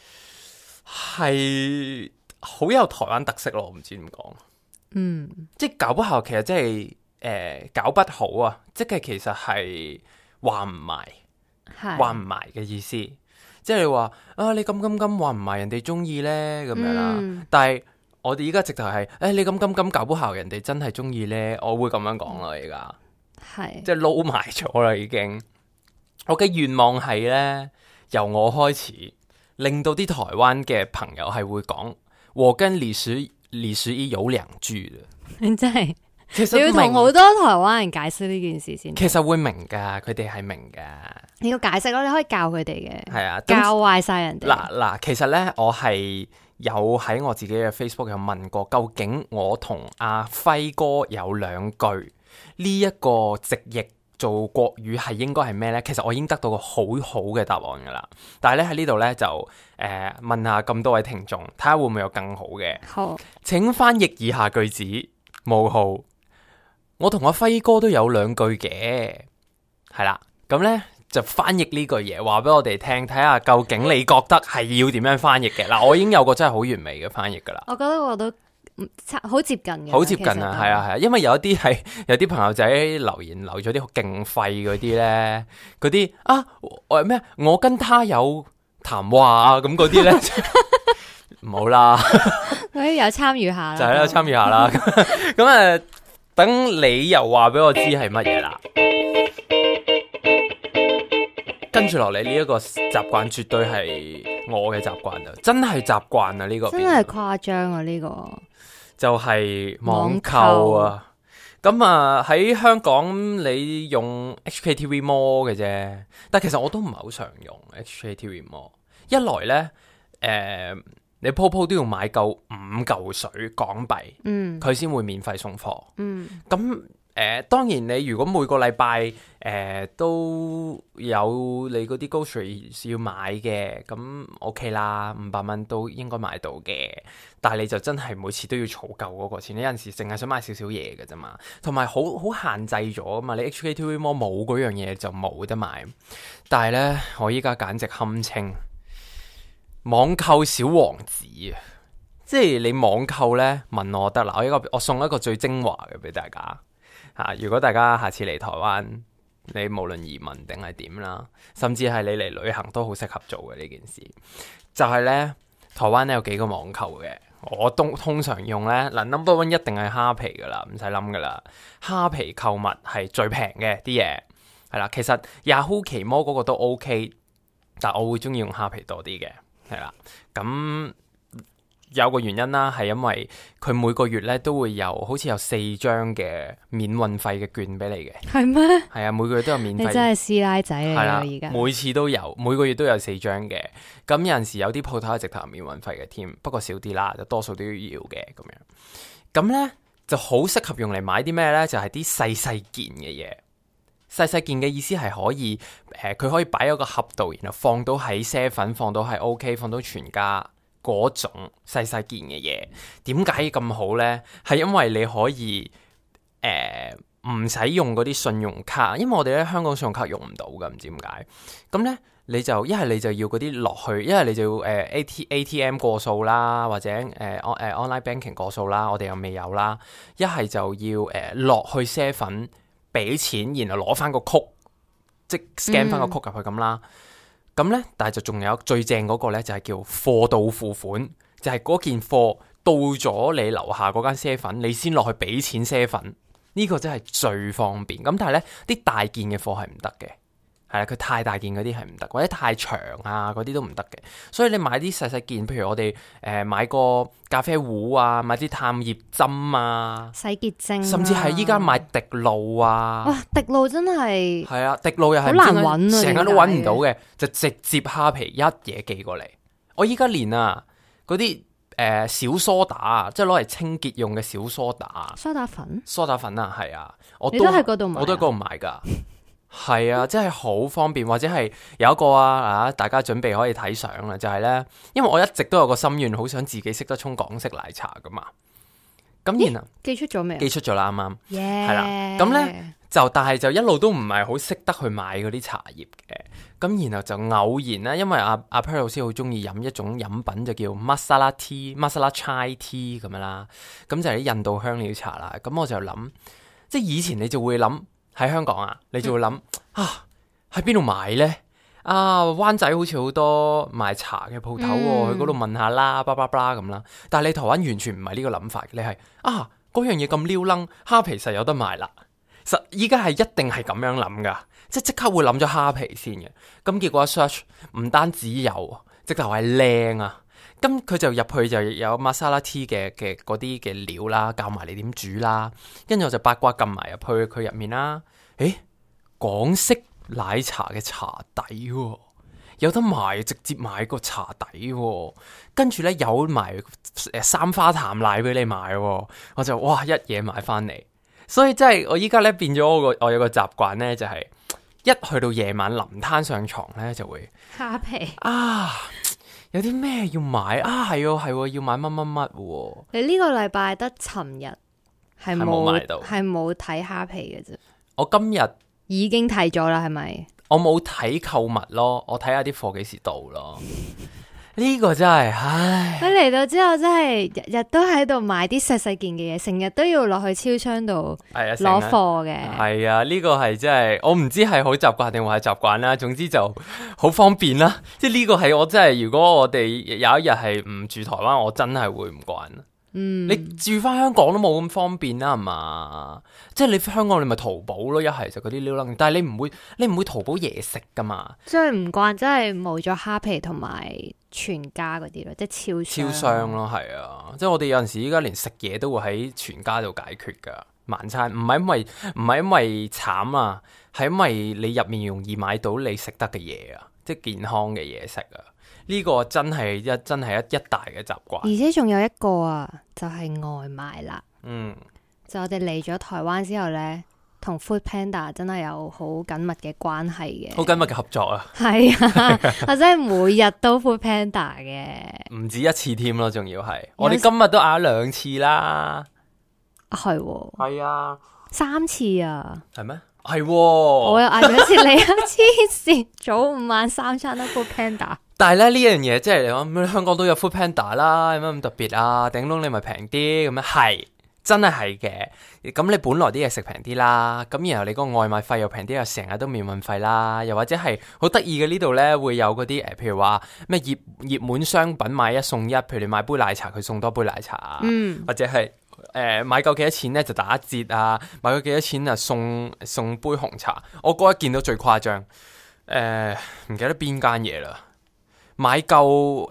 好有台灣特色咯，我唔知點講。即係搞不好其實即係搞不好啊，即係其實係話唔埋嘅意思。即係你話你咁話唔埋人哋中意咧咁樣啦，但係我哋依家直頭係你咁搞不好人哋真係中意咧，我會咁樣講啦。而家係即係撈埋咗啦，已經。我嘅願望係咧，由我開始令到啲台灣嘅朋友係會講我跟李時依有2句嘅。真係，其實你要同好多台灣人解釋呢件事先。其實會明噶，佢哋係明噶。你要解釋咯，你可以教佢哋嘅。係啊，教壞晒人哋。嗱，其實咧，我係有喺我自己嘅 Facebook 有問過，究竟我同阿輝哥有2句呢一個直譯做國語係應該係咩咧？其實我已經得到個好好嘅答案噶啦。但係咧喺呢度咧就問下咁多位聽眾，睇下會唔會有更好嘅。好，請翻譯以下句子：冒號，我同阿輝哥都有2句嘅，係啦，咁咧。就翻譯呢句嘢，話俾我哋聽，睇下究竟你覺得係要點樣翻譯嘅。嗱，我已經有個真係好完美嘅翻譯噶啦。我覺得我都好接近嘅，好接近啊，係啊係啊，因為有啲朋友仔留言留咗啲勁廢嗰啲咧，嗰啲咩？我跟他有談話啊，咁嗰啲咧，唔好啦，嗰啲有參與下啦，就係啦，參與下啦。咁等你又話俾我知係乜嘢啦。跟住落嚟呢一個習慣絕對係我嘅習慣啊，真係習慣啊，呢個真係誇張啊，呢個就係網購啊。咁喺香港你用 HKTV Mall 嘅啫，但其實我都唔係好常用 HKTV Mall。一來呢，你鋪都要買夠5嚿水港幣，佢先會免費送貨。咁當然你如果每個禮拜都有你嗰啲 grocery 要買嘅，咁 OK 啦，500蚊都應該買到嘅。但係你就真係每次都要儲夠嗰個錢，你有陣時淨係想買少少嘢嘅啫嘛，同埋好限制咗啊嘛。你 HKTV Mall 冇嗰樣嘢就冇得買。但係呢，我依家簡直堪稱網購小王子啊！即係你網購呢，問我得啦，我送一個最精華嘅俾大家。如果大家下次嚟台灣，你無論移民定係點啦，甚至係你嚟旅行都好適合做嘅呢件事。就係呢，台灣呢有幾個網購嘅，我通常用呢，嗱 number one 一定係蝦皮噶啦，唔使諗噶啦。蝦皮購物係最平嘅啲嘢，係啦。其實 Yahoo 奇摩嗰個都 OK， 但我會中意用蝦皮多啲嘅，係啦。咁有個原因啦，係因為佢每個月咧都會有好似有4張嘅免運費嘅券俾你嘅。係咩？係啊，每個月都有免費。你真係師奶仔嚟啊！而家每次都有，每個月都有4張嘅。咁有陣時有啲鋪頭係直頭免運費嘅添，不過少啲啦，就多數都要嘅咁樣。咁咧就好適合用嚟買啲咩咧？就係啲細細件嘅嘢。細細件嘅意思係可以佢可以擺喺個盒度，然後放到喺啡粉，放到喺 OK， 放到全家。嗰種細細件嘅嘢，點解咁好呢？係因為你可以唔使用嗰啲信用卡，因為我哋咧香港信用卡用唔到噶，唔知點解。咁咧你就一係你就要嗰啲落去，一係你就要ATM 過數啦，或者online banking 過數啦，我哋又未有啦。一係就要落去 7俾錢，然後攞翻個曲，即 scan 翻個曲入去咁啦。咁咧，但係就仲有最正嗰個咧，就係叫貨到付款，就係嗰件貨到咗你樓下嗰間 7，你先落去俾錢7。呢個真係最方便。咁但係咧，啲大件嘅貨係唔得嘅，係啦，佢太大件嗰啲係唔得，或者太長啊嗰啲都唔得嘅。所以你買啲細細件，譬如我哋買個咖啡壺啊，買啲探葉針啊， 洗潔精， 甚至係依家買滴露啊。 哇，滴露真係係啊，滴露又係好難揾啊， 成日都揾唔到嘅，就直接蝦皮一嘢寄過嚟。我依家連啊嗰啲小梳打啊，即係攞嚟清潔用嘅小梳打， 梳打粉啊，係啊， 你都喺嗰度買， 我都喺嗰度買噶，係啊，真係好方便。或者係有一個大家準備可以睇相啦，就係咧，因為我一直都有個心願，好想自己識得沖港式奶茶噶嘛。咁然後寄出咗未？ 寄出咗啦，啱啱， 係啦。咁咧但係就一路都唔係好識得去買嗰啲茶葉嘅。咁然後就偶然啦，因為阿 Per 老師好中意飲一種飲品就叫 Masala Chai Tea 咁樣啦，咁就係啲印度香料茶啦。咁我就諗，即係以前你就會諗喺香港啊，你就會諗喺邊度買呢？灣仔好似好多賣茶嘅鋪頭喎，去嗰度問下啦，巴拉巴拉咁啦。但係你台灣完全唔係呢個諗法，你係嗰樣嘢咁撩楞，蝦皮實有得賣啦。實依家係一定係咁樣諗噶。即刻會諗咗蝦皮先嘅，咁結果一 search 唔單止有，直頭係靚啊！咁佢就入去就有 Masala Tea 嘅嗰啲嘅料啦，教埋你點煮啦，跟住我就八卦撳埋入去佢入面啦。港式奶茶嘅茶底喎，有得賣，直接買個茶底喎，跟住咧有埋三花淡奶俾你買喎，我就哇一嘢買翻嚟。所以真係我依家咧變咗我有個習慣咧，就係一去到夜晚臨攤上床咧，就會蝦皮有啲咩要買係要買乜乜乜喎。 你呢個禮拜得尋日係冇買到，係冇睇蝦皮嘅啫。 我今日已經睇咗啦，係咪？ 我冇睇購物咯，我睇下啲貨幾時到咯。呢個真係，唉！ 佢嚟到之後真係日日都喺度買啲細細件嘅嘢，成日都要落去超商度攞貨嘅。 係啊，呢個係真係，我唔知係好習慣定話係習慣啦。總之就好方便啦。即係呢個係我真係，如果我哋有一日係唔住台灣，我真係會唔慣。你住翻香港都冇咁方便啦，係嘛？即係你香港你咪淘寶咯，一係就嗰啲撩楞，但係你唔會淘寶嘢食噶嘛？ 最唔慣真係冇咗蝦皮同埋全家嗰啲咯，即係超商咯，係啊！即係我哋有陣時依家連食嘢都會喺全家度解決噶晚餐，唔係因為慘啊，係因為你入面容易買到你食得嘅嘢啊，即係健康嘅嘢食啊。呢個真係一大嘅習慣， 而且仲有一個就係外賣啦。就我哋嚟咗台灣之後呢，同 Food Panda 真係有好緊密嘅關係嘅， 好緊密嘅合作啊。 係啊，我真係每日都 Food Panda 嘅， 唔止一次添咯，仲要係我哋今日都嗌咗2次啦。係啊 ，3次啊， 係咩？係， 我又嗌咗一次，你黐線，早午晚3餐都 Food Panda。 但係咧呢樣嘢，即係你講香港都有 Food Panda 啦，有乜咁特別啊？頂籠你咪平啲咁樣，係真係嘅。咁你本來啲嘢食平啲啦，咁然後你個外賣費又平啲，又成日都免運費啦，又或者係好得意嘅呢度咧，會有嗰啲譬如話咩熱門商品買1送1，譬如你買杯奶茶，佢送多杯奶茶啊，或者係買夠幾多錢咧就打折啊，買夠幾多錢啊送杯紅茶。我嗰日見到最誇張，唔記得邊間嘢啦。買夠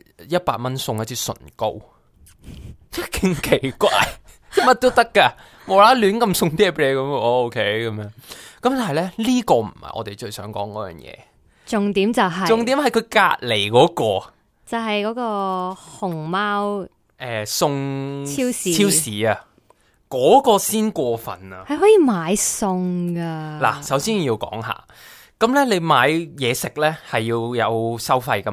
100蚊送一支唇膏，真係勁奇怪，乜都得噶，無啦啦亂咁送啲嘢俾你咁，我 OK 咁樣。咁但係咧呢個唔係我哋最想講嗰樣嘢，重點係佢隔籬嗰個，就係嗰個熊貓送超市啊，嗰個先過分啊，係可以買餸噶。嗱，首先要講下。咁咧，你買嘢食咧係要有收費噶嘛？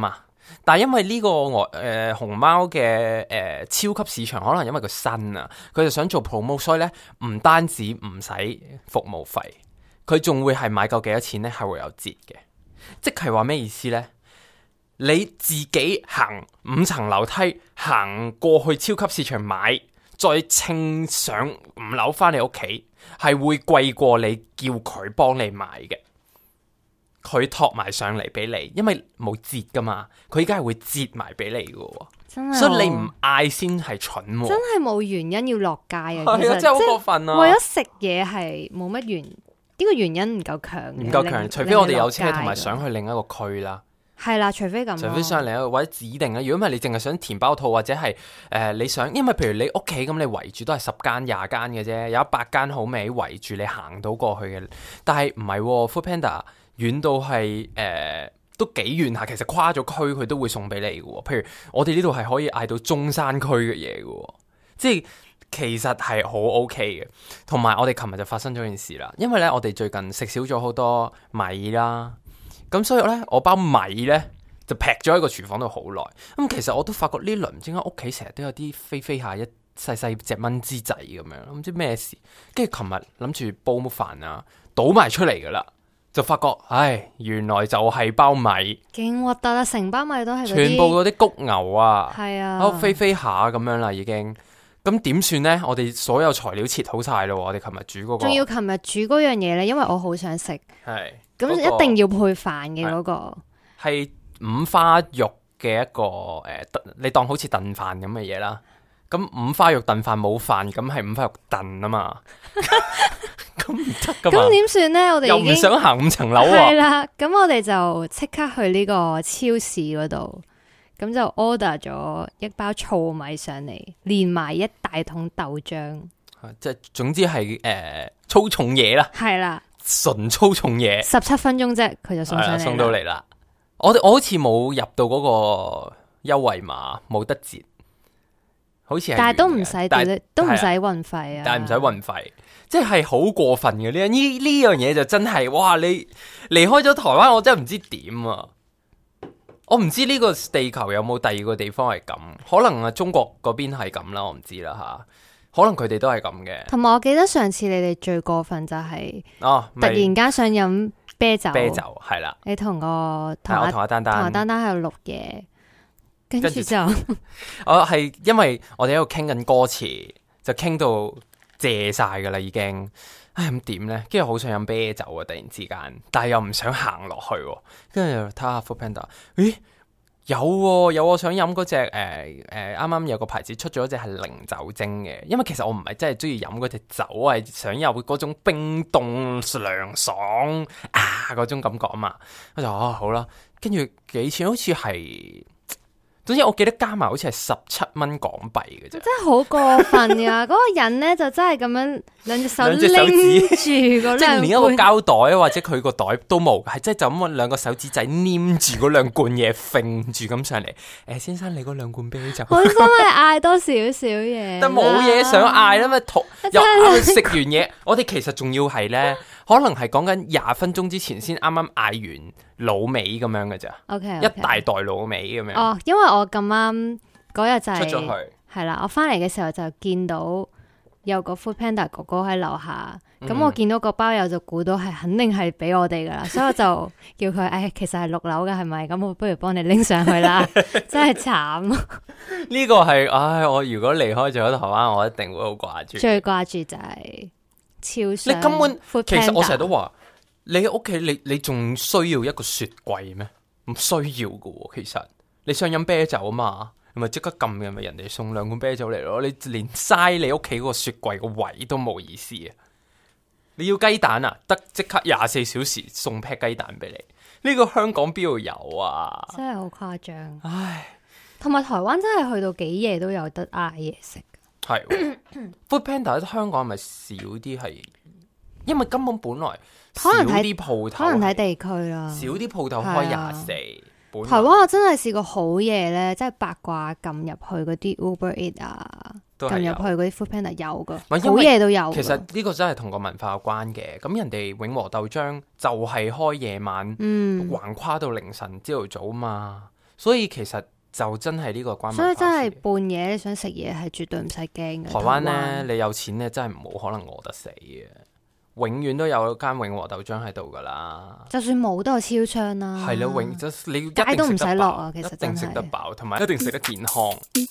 但係因為呢個熊貓嘅超級市場，可能因為佢新啊，佢就想做 promo， 所以咧唔單止唔使服務費，佢仲會係買夠幾多錢咧係會有折嘅。即係話咩意思咧？你自己行5層樓梯行過去超級市場買，再稱上5樓翻你屋企，係會貴過你叫佢幫你買嘅。佢托埋上嚟俾你，因為冇折噶嘛，佢依家係會折埋俾你噶， 真係所以你唔嗌先係蠢， 真係冇原因要落街啊！ 係啊，真係好過分啊！ 為咗食嘢係冇乜原，呢個原因唔夠強， 唔夠強，除非我哋有車同埋想去另一個區啦。 係啦，除非咁， 除非想另一個或者指定啊。如果唔係，你淨係想填包套或者係你想，因為譬如你屋企咁，你圍住都係10間20間嘅啫，有100間好味圍住你行到過去嘅。但係唔係 Foodpanda 遠到係都幾遠下，其實跨咗區佢都會送俾你嘅。譬如我哋呢度係可以嗌到中山區嘅嘢嘅，即係其實係好 OK 嘅。同埋我哋琴日就發生咗件事啦，因為咧我哋最近食少咗好多米啦。咁所以咧，我包米咧就劈咗喺個廚房度好耐。咁其實我都發覺呢輪唔知點解屋企成日都有啲飛下一細細隻蚊滋仔咁樣，唔知咩事。跟住琴日諗住煲乜飯啊，倒埋出嚟噶啦，就發覺，唉，原來就係包米， 勁核突啊！成包米都係全部嗰啲谷牛啊， 係啊， 喺度飛下咁樣啦，已經。咁點算呢？我哋所有材料切好晒咯，我哋琴日煮嗰個， 仲要琴日煮嗰樣嘢咧，因為我好想食， 係咁一定要配飯嘅嗰個， 係五花肉嘅一個你當好似燉飯咁嘅嘢啦。咁五花肉燉飯冇飯，咁係五花肉燉啊嘛，咁唔得噶嘛。 咁點算呢？我哋又唔想行5層樓啊。 係啦，咁我哋就即刻去呢個超市嗰度。咁就 order 咗一包糙米上嚟，連埋一大桶豆漿， 即係總之係粗重嘢啦， 係啦， 純粗重嘢。 17分鐘啫，佢就送上嚟， 送到嚟啦。我好似冇入到嗰個優惠碼，冇得折，好似係， 但係都唔使，都唔使運費啊。 但係唔使運費，即係好過分嘅呢樣嘢就真係，哇！你離開咗台灣，我真係唔知點啊！我唔知呢個地球有冇第二個地方係咁，可能中國嗰邊係咁啦，我唔知啦吓，可能佢哋都係咁嘅。 同埋我記得上次你哋最過分就係突然間想飲啤酒係啦， 你同阿丹丹喺度錄嘢，跟住就我係因為我哋喺度傾緊歌詞，就傾到謝晒噶啦已經。唉，咁點咧？跟住好想飲啤酒啊！突然之間，但係又唔想行落去，跟住睇下 Foodpanda，咦，有我想飲嗰隻啱啱有個牌子出咗一隻係零酒精嘅，因為其實我唔係真係中意飲嗰隻酒，係想有嗰種冰凍涼爽嗰種感覺啊嘛。我就好啦，跟住幾錢？好似係。總之我記得加埋好似係17蚊港幣嘅啫，真係好過分噶！嗰個人咧就真係咁樣兩隻手拎住嗰兩罐， 即係連一個膠袋或者佢個袋都冇，係即係就咁兩個手指仔黏住嗰2罐嘢，揈住咁上嚟。先生，你嗰2罐啤酒， 好心係嗌多少少嘢， 但冇嘢想嗌啦嘛，又食完嘢，我哋其實仲要係咧，可能係講緊20分鐘之前先啱啱嗌完滷味咁樣嘅咋。 Okay. 一大袋滷味咁樣。 哦，因為我咁啱嗰日就係出咗去， 係啦，我翻嚟嘅時候就見到有個 Foodpanda 哥哥喺樓下，咁我見到個包友就估到係肯定係俾我哋噶啦，所以我就叫佢，其實係6樓嘅係咪？咁我不如幫你拎上去啦，真係慘。 呢個係，我如果離開咗台灣，我一定會好掛住。 最掛住就係超商。 你根本 Foodpanda 其實我成日都話，你喺屋企你仲需要一個雪櫃咩？唔需要噶喎，其實。你想飲啤酒啊嘛，咪即刻撳嘅，咪人哋送2罐啤酒嚟咯。你連嘥你屋企嗰個雪櫃個位都冇意思啊！你要雞蛋啊，得即刻24小時送劈雞蛋俾你。呢個香港邊度有啊？ 真係好誇張。 唉， 同埋台灣真係去到幾夜都有得嗌嘢食。 係 Foodpanda 喺香港係咪少啲？係因為根本本來可能睇啲鋪頭， 可能睇地區啦， 少啲鋪頭開24。 台灣我真係試過好夜咧，即係八卦撳入去嗰啲 Uber Eats 啊，撳入去嗰啲 Foodpanda 有噶，好夜都有。 其實呢個真係同個文化有關嘅。咁人哋永和豆漿就係開夜晚，橫跨到凌晨朝頭早嘛， 所以其實就真係呢個關文化事。 所以真係半夜你想食嘢係絕對唔使驚嘅。 台灣呢，你有錢呢，真係冇可能餓得死嘅，永遠都有間永和豆漿喺度噶啦。 就算冇都有超商啦。 係咯，你一街都唔使落啊， 其實一定食得飽，同埋一定食得健康。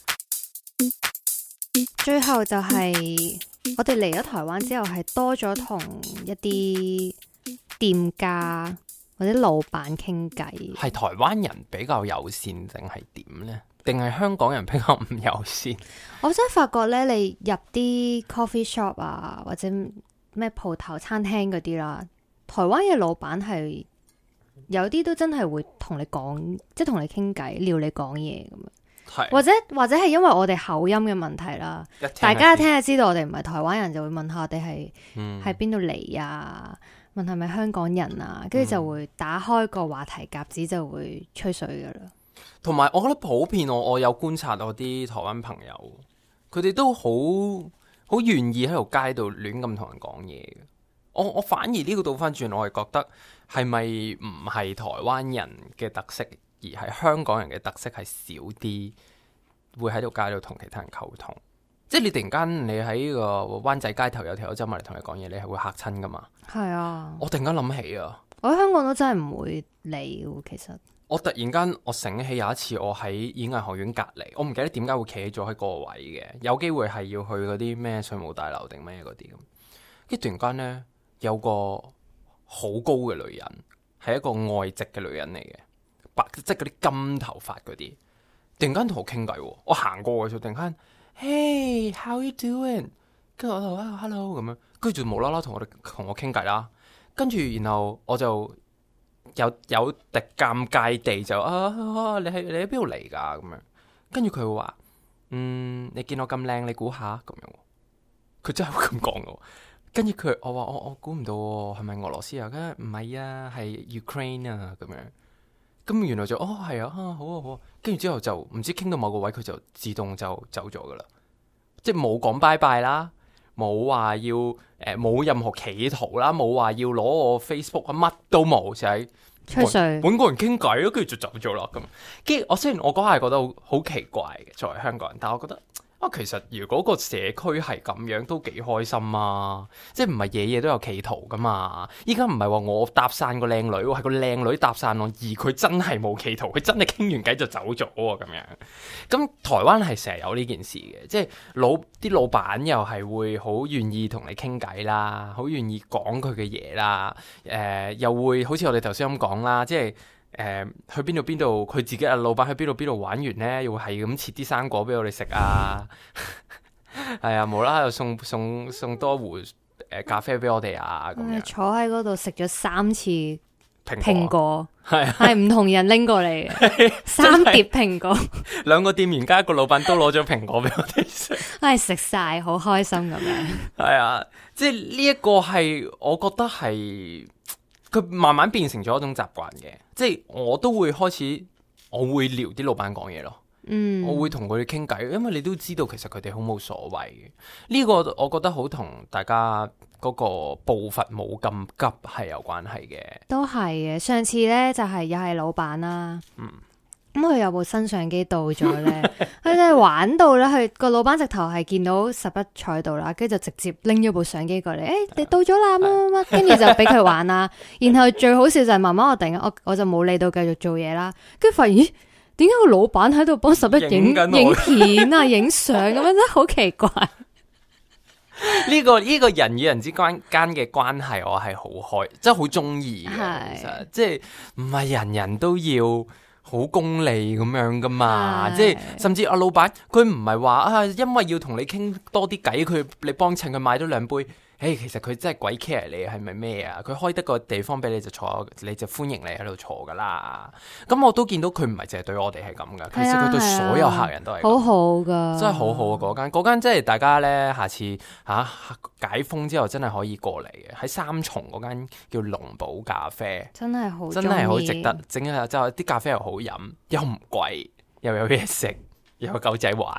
最後就係我哋嚟咗台灣之後，係多咗同一啲店家或者老闆傾偈。 係台灣人比較友善定係點呢？定係香港人比較唔友善？ 我真係發覺咧，你入啲 coffee shop 啊，或者咩鋪頭、餐廳嗰啲啦，台灣嘅老闆係有啲都真係會同你講，即係同你傾偈，撩你講嘢咁樣。 係或者係因為我哋口音嘅問題啦，大家一聽就知道我哋唔係台灣人，就會問下我哋係邊度嚟啊，問係咪香港人啊，跟住就會打開個話題夾子，就會吹水噶啦。 同埋我覺得普遍我有觀察我啲台灣朋友，佢哋都好願意喺條街度亂咁同人講嘢嘅。我反而呢個倒翻轉，我係覺得係咪唔係台灣人嘅特色？而係香港人嘅特色係少啲，會喺度街度同其他人溝通。即係你突然間你喺個灣仔街頭有條友走埋嚟同你講嘢，你係會嚇親噶嘛？係啊！我突然間諗起啊， 我喺香港都真係唔會理嘅。其實我突然間我醒起有一次我喺演藝學院隔離，我唔記得點解會企咗喺嗰個位嘅，有機會係要去嗰啲咩稅務大樓定咩嗰啲咁。跟住突然間呢，有個好高嘅女人，係一個外籍嘅女人嚟嘅。即係嗰啲金頭髮嗰啲，突然間同我傾偈，我行過嘅時候，突然間，Hey how you doing？ 跟住我就hello 咁樣，跟住就無啦啦同我傾偈啦。跟住然後我就有啲尷尬地就你喺邊度嚟㗎咁樣？跟住佢會話你見我咁靚，你估下咁樣？佢真係會咁講嘅。跟住我話我估唔到係咪俄羅斯啊？跟住唔係啊，係 Ukraine 啊咁樣。咁原來就係啊，好啊好啊，跟住之後就唔知傾到某個位，佢就自動就走咗噶啦，即係冇講拜拜啦，冇話要冇任何企圖啦，冇話要攞我 Facebook 啊，乜都冇，就係吹水揾個人傾偈咯，跟住就走咗啦咁。跟住我雖然我嗰下覺得好奇怪嘅，作為香港人，但係我覺得其實如果個社區係咁樣都幾開心啊！即係唔係嘢都有企圖噶嘛？依家唔係話我搭訕個靚女，係個靚女搭訕我，而佢真係冇企圖，佢真係傾完偈就走咗喎咁樣。咁台灣係成日有呢件事嘅，即係啲老闆又係會好願意同你傾偈啦，好願意講佢嘅嘢啦，又會好似我哋頭先咁講啦，即係。去邊度，佢自己老闆去邊度玩完呢，又會係咁切啲生果俾我哋食啊，係啊，無啦啦又送多壺咖啡俾我哋啊，咁樣坐喺嗰度食咗3次蘋果，係唔同人拎過嚟嘅，3碟蘋果 ，2個店員加1個老闆都攞咗蘋果俾我哋食， 係食晒，好開心咁樣。 係啊，即係呢一個係我覺得係。佢慢慢變成咗一種習慣嘅，即係我都會開始，我會撩啲老闆講嘢咯。我會同佢哋傾偈，因為你都知道其實佢哋好冇所謂嘅。呢個我覺得好同大家嗰個步伐冇咁急係有關係嘅。 都係嘅，上次呢就係又係老闆啦。咁佢有部新相機到咗咧，佢真係玩到咧，佢個老闆直頭係見到11坐喺度啦，跟住就直接拎咗部相機過嚟，你到咗啦乜乜乜，跟住就俾佢玩啦。然後最好笑就係慢慢我突然間我就冇理到繼續做嘢啦，跟住發現咦，點解個老闆喺度幫11影片啊、影相咁樣，真係好奇怪。 呢個人與人之間嘅關係，我係好開，真係好中意嘅。其實即係唔係人人都要好功利咁樣噶嘛，即係甚至阿老闆佢唔係話因為要同你傾多啲偈，你幫襯佢買咗2杯，其實佢真係鬼 care 你係咪咩啊？佢開得個地方俾你就坐，你就歡迎你喺度坐噶啦。咁我都見到佢唔係淨係對我哋係咁噶，其實佢對所有客人都係好好噶， 真係好好啊！嗰間即係大家咧，下次解封之後真係可以過嚟嘅，喺三重嗰間叫龍寶咖啡， 真係好值得整啊！就啲咖啡又好飲，又唔貴，又有嘢食，又有狗仔玩。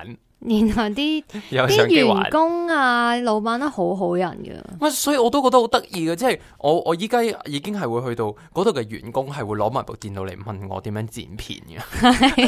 然後啲員工啊、老闆都好好人嘅。 所以我都覺得好得意嘅，即係我依家已經係會去到嗰度嘅員工係會攞埋部電腦嚟問我點樣剪片嘅。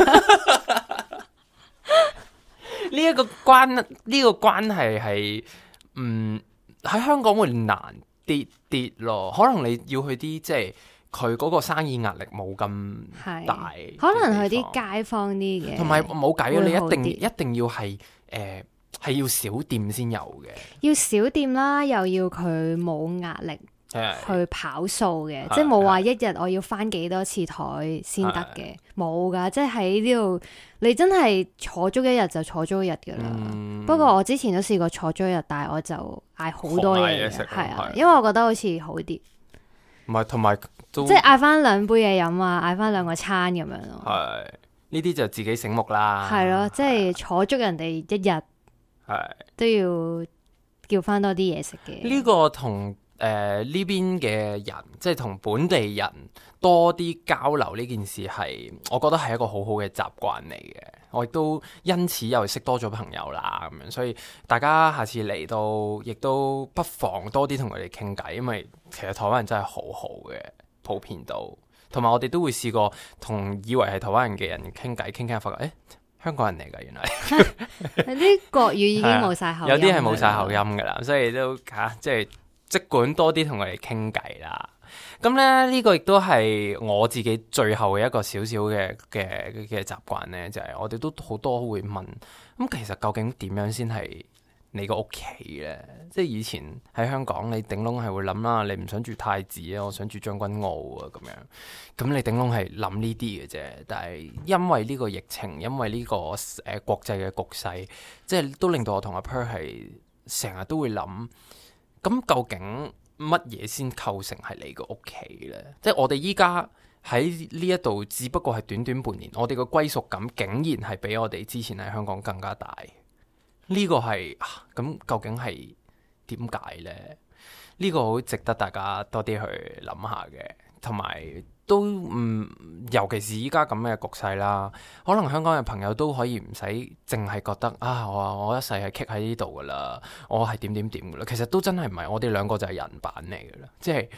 呢個關係係喺香港會難啲咯，可能你要去啲即係佢嗰個生意壓力冇咁大， 可能去啲街坊啲嘅， 同埋冇計啊！你一定要係係要小店先有嘅， 要小店啦，又要佢冇壓力去跑數嘅，即係冇話一日我要翻幾多次台先得嘅，冇噶，即係喺呢度你真係坐足一日就坐足一日噶啦。不過我之前都試過坐足一日，但係我就嗌好多嘢嘅，係啊，因為我覺得好似好啲， 唔係同埋即係嗌翻2杯嘢飲啊，嗌翻2個餐咁樣咯。 係呢啲就自己醒目啦， 係咯，即係坐足人哋一日，係都要叫翻多啲嘢食嘅。 呢個同呢邊嘅人，即係同本地人多啲交流呢件事係，我覺得係一個好好嘅習慣嚟嘅。我亦都因此又識多咗朋友啦，咁樣，所以大家下次嚟到，亦都不妨多啲同佢哋傾偈，因為其實台灣人真係好好嘅，普遍到，同埋我哋都會試過同以為係台灣人嘅人傾偈，傾傾發覺，香港人嚟㗎，原來有啲國語已經冇晒口音， 有啲係冇晒口音㗎啦，所以都即管多啲同佢哋傾偈啦。咁咧呢個亦都係我自己最後嘅一個少少嘅習慣咧，就係我哋都好多會問，咁其實究竟點樣先係你個屋企咧？即係以前喺香港，你頂籠係會諗啦，你唔想住太子啊，我想住將軍澳啊咁樣。咁你頂籠係諗呢啲嘅啫。但係因為呢個疫情，因為呢個國際嘅局勢，即係都令到我同阿 Per 係成日都會諗。咁究竟乜嘢先構成係你個屋企呢？即係我哋依家喺呢一度，只不過係短短半年，我哋個歸屬感竟然係比我哋之前喺香港更加大。呢個係咁究竟係點解呢？呢個好值得大家多啲去諗下嘅，同埋都尤其是依家咁嘅局勢啦，可能香港嘅朋友都可以唔使淨係覺得我一世係棘喺呢度噶啦，我係點噶啦。其實都真係唔係，我哋兩個就係人版嚟噶啦，即係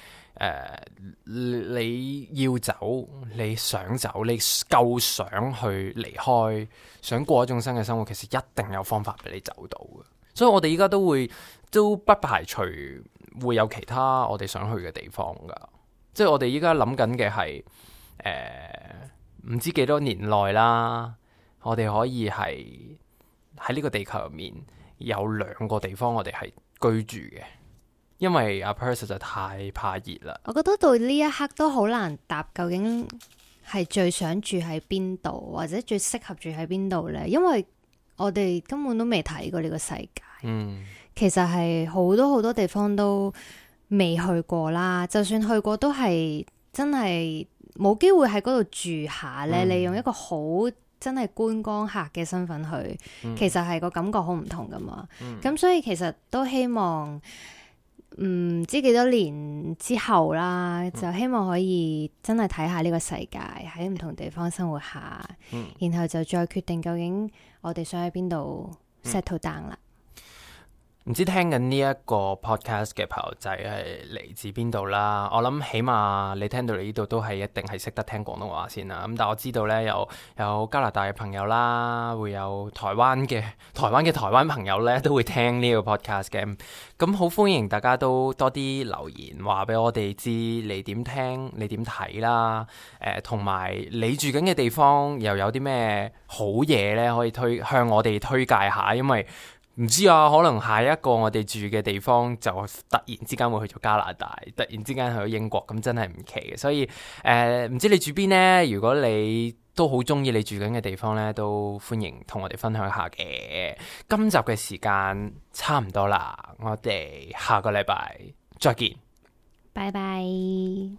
你要走，你想走，你夠想去離開，想過一種新嘅生活，其實一定有方法俾你走到嘅。所以我哋依家都不排除會有其他我哋想去嘅地方噶。即係我哋依家諗緊嘅係唔知幾多年內啦，我哋可以係喺呢個地球入面有2個地方我哋係居住嘅，因為阿 Per 實在太怕熱啦。 我覺得到呢一刻都好難答，究竟係最想住喺邊度，或者最適合住喺邊度呢？因為我哋根本都未睇過呢個世界。其實係好多地方都未去過啦，就算去過都係真係冇機會喺嗰度住下咧。你用一個好真係觀光客嘅身份去，其實係個感覺好唔同噶嘛。咁所以其實都希望唔知幾多年之後啦，就希望可以真係睇下呢個世界，喺唔同地方生活下，然後就再決定究竟我哋想喺邊度 settle down 啦。 唔知聽緊呢一個 podcast 嘅朋友仔係嚟自邊度啦？我諗起碼你聽到嚟呢度都係一定係識得聽廣東話先啦。咁但係我知道呢，有加拿大嘅朋友啦，會有台灣嘅台灣朋友呢都會聽呢個 podcast 嘅。咁好歡迎大家都多啲留言話俾我哋知你點聽，你點睇啦。同埋你住緊嘅地方又有啲咩好嘢呢？可以向我哋推介下，因為唔知啊，可能下一個我哋住嘅地方就突然之間會去咗加拿大，突然之間去咗英國，咁真係唔奇嘅。所以唔知你住邊呢？如果你都好中意你住緊嘅地方呢，都歡迎同我哋分享下嘅。今集嘅時間差唔多啦，我哋下個禮拜再見， 拜拜。11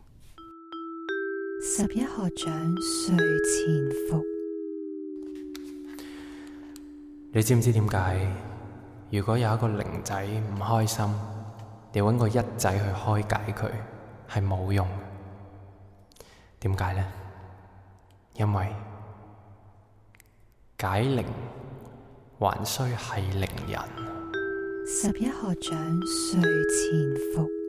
學長睡前服， 你知唔知點解？如果有一個零仔唔開心，你搵個一仔去開解佢係冇用。點解呢？因為解鈴還需繫鈴人。 11學長睡前服。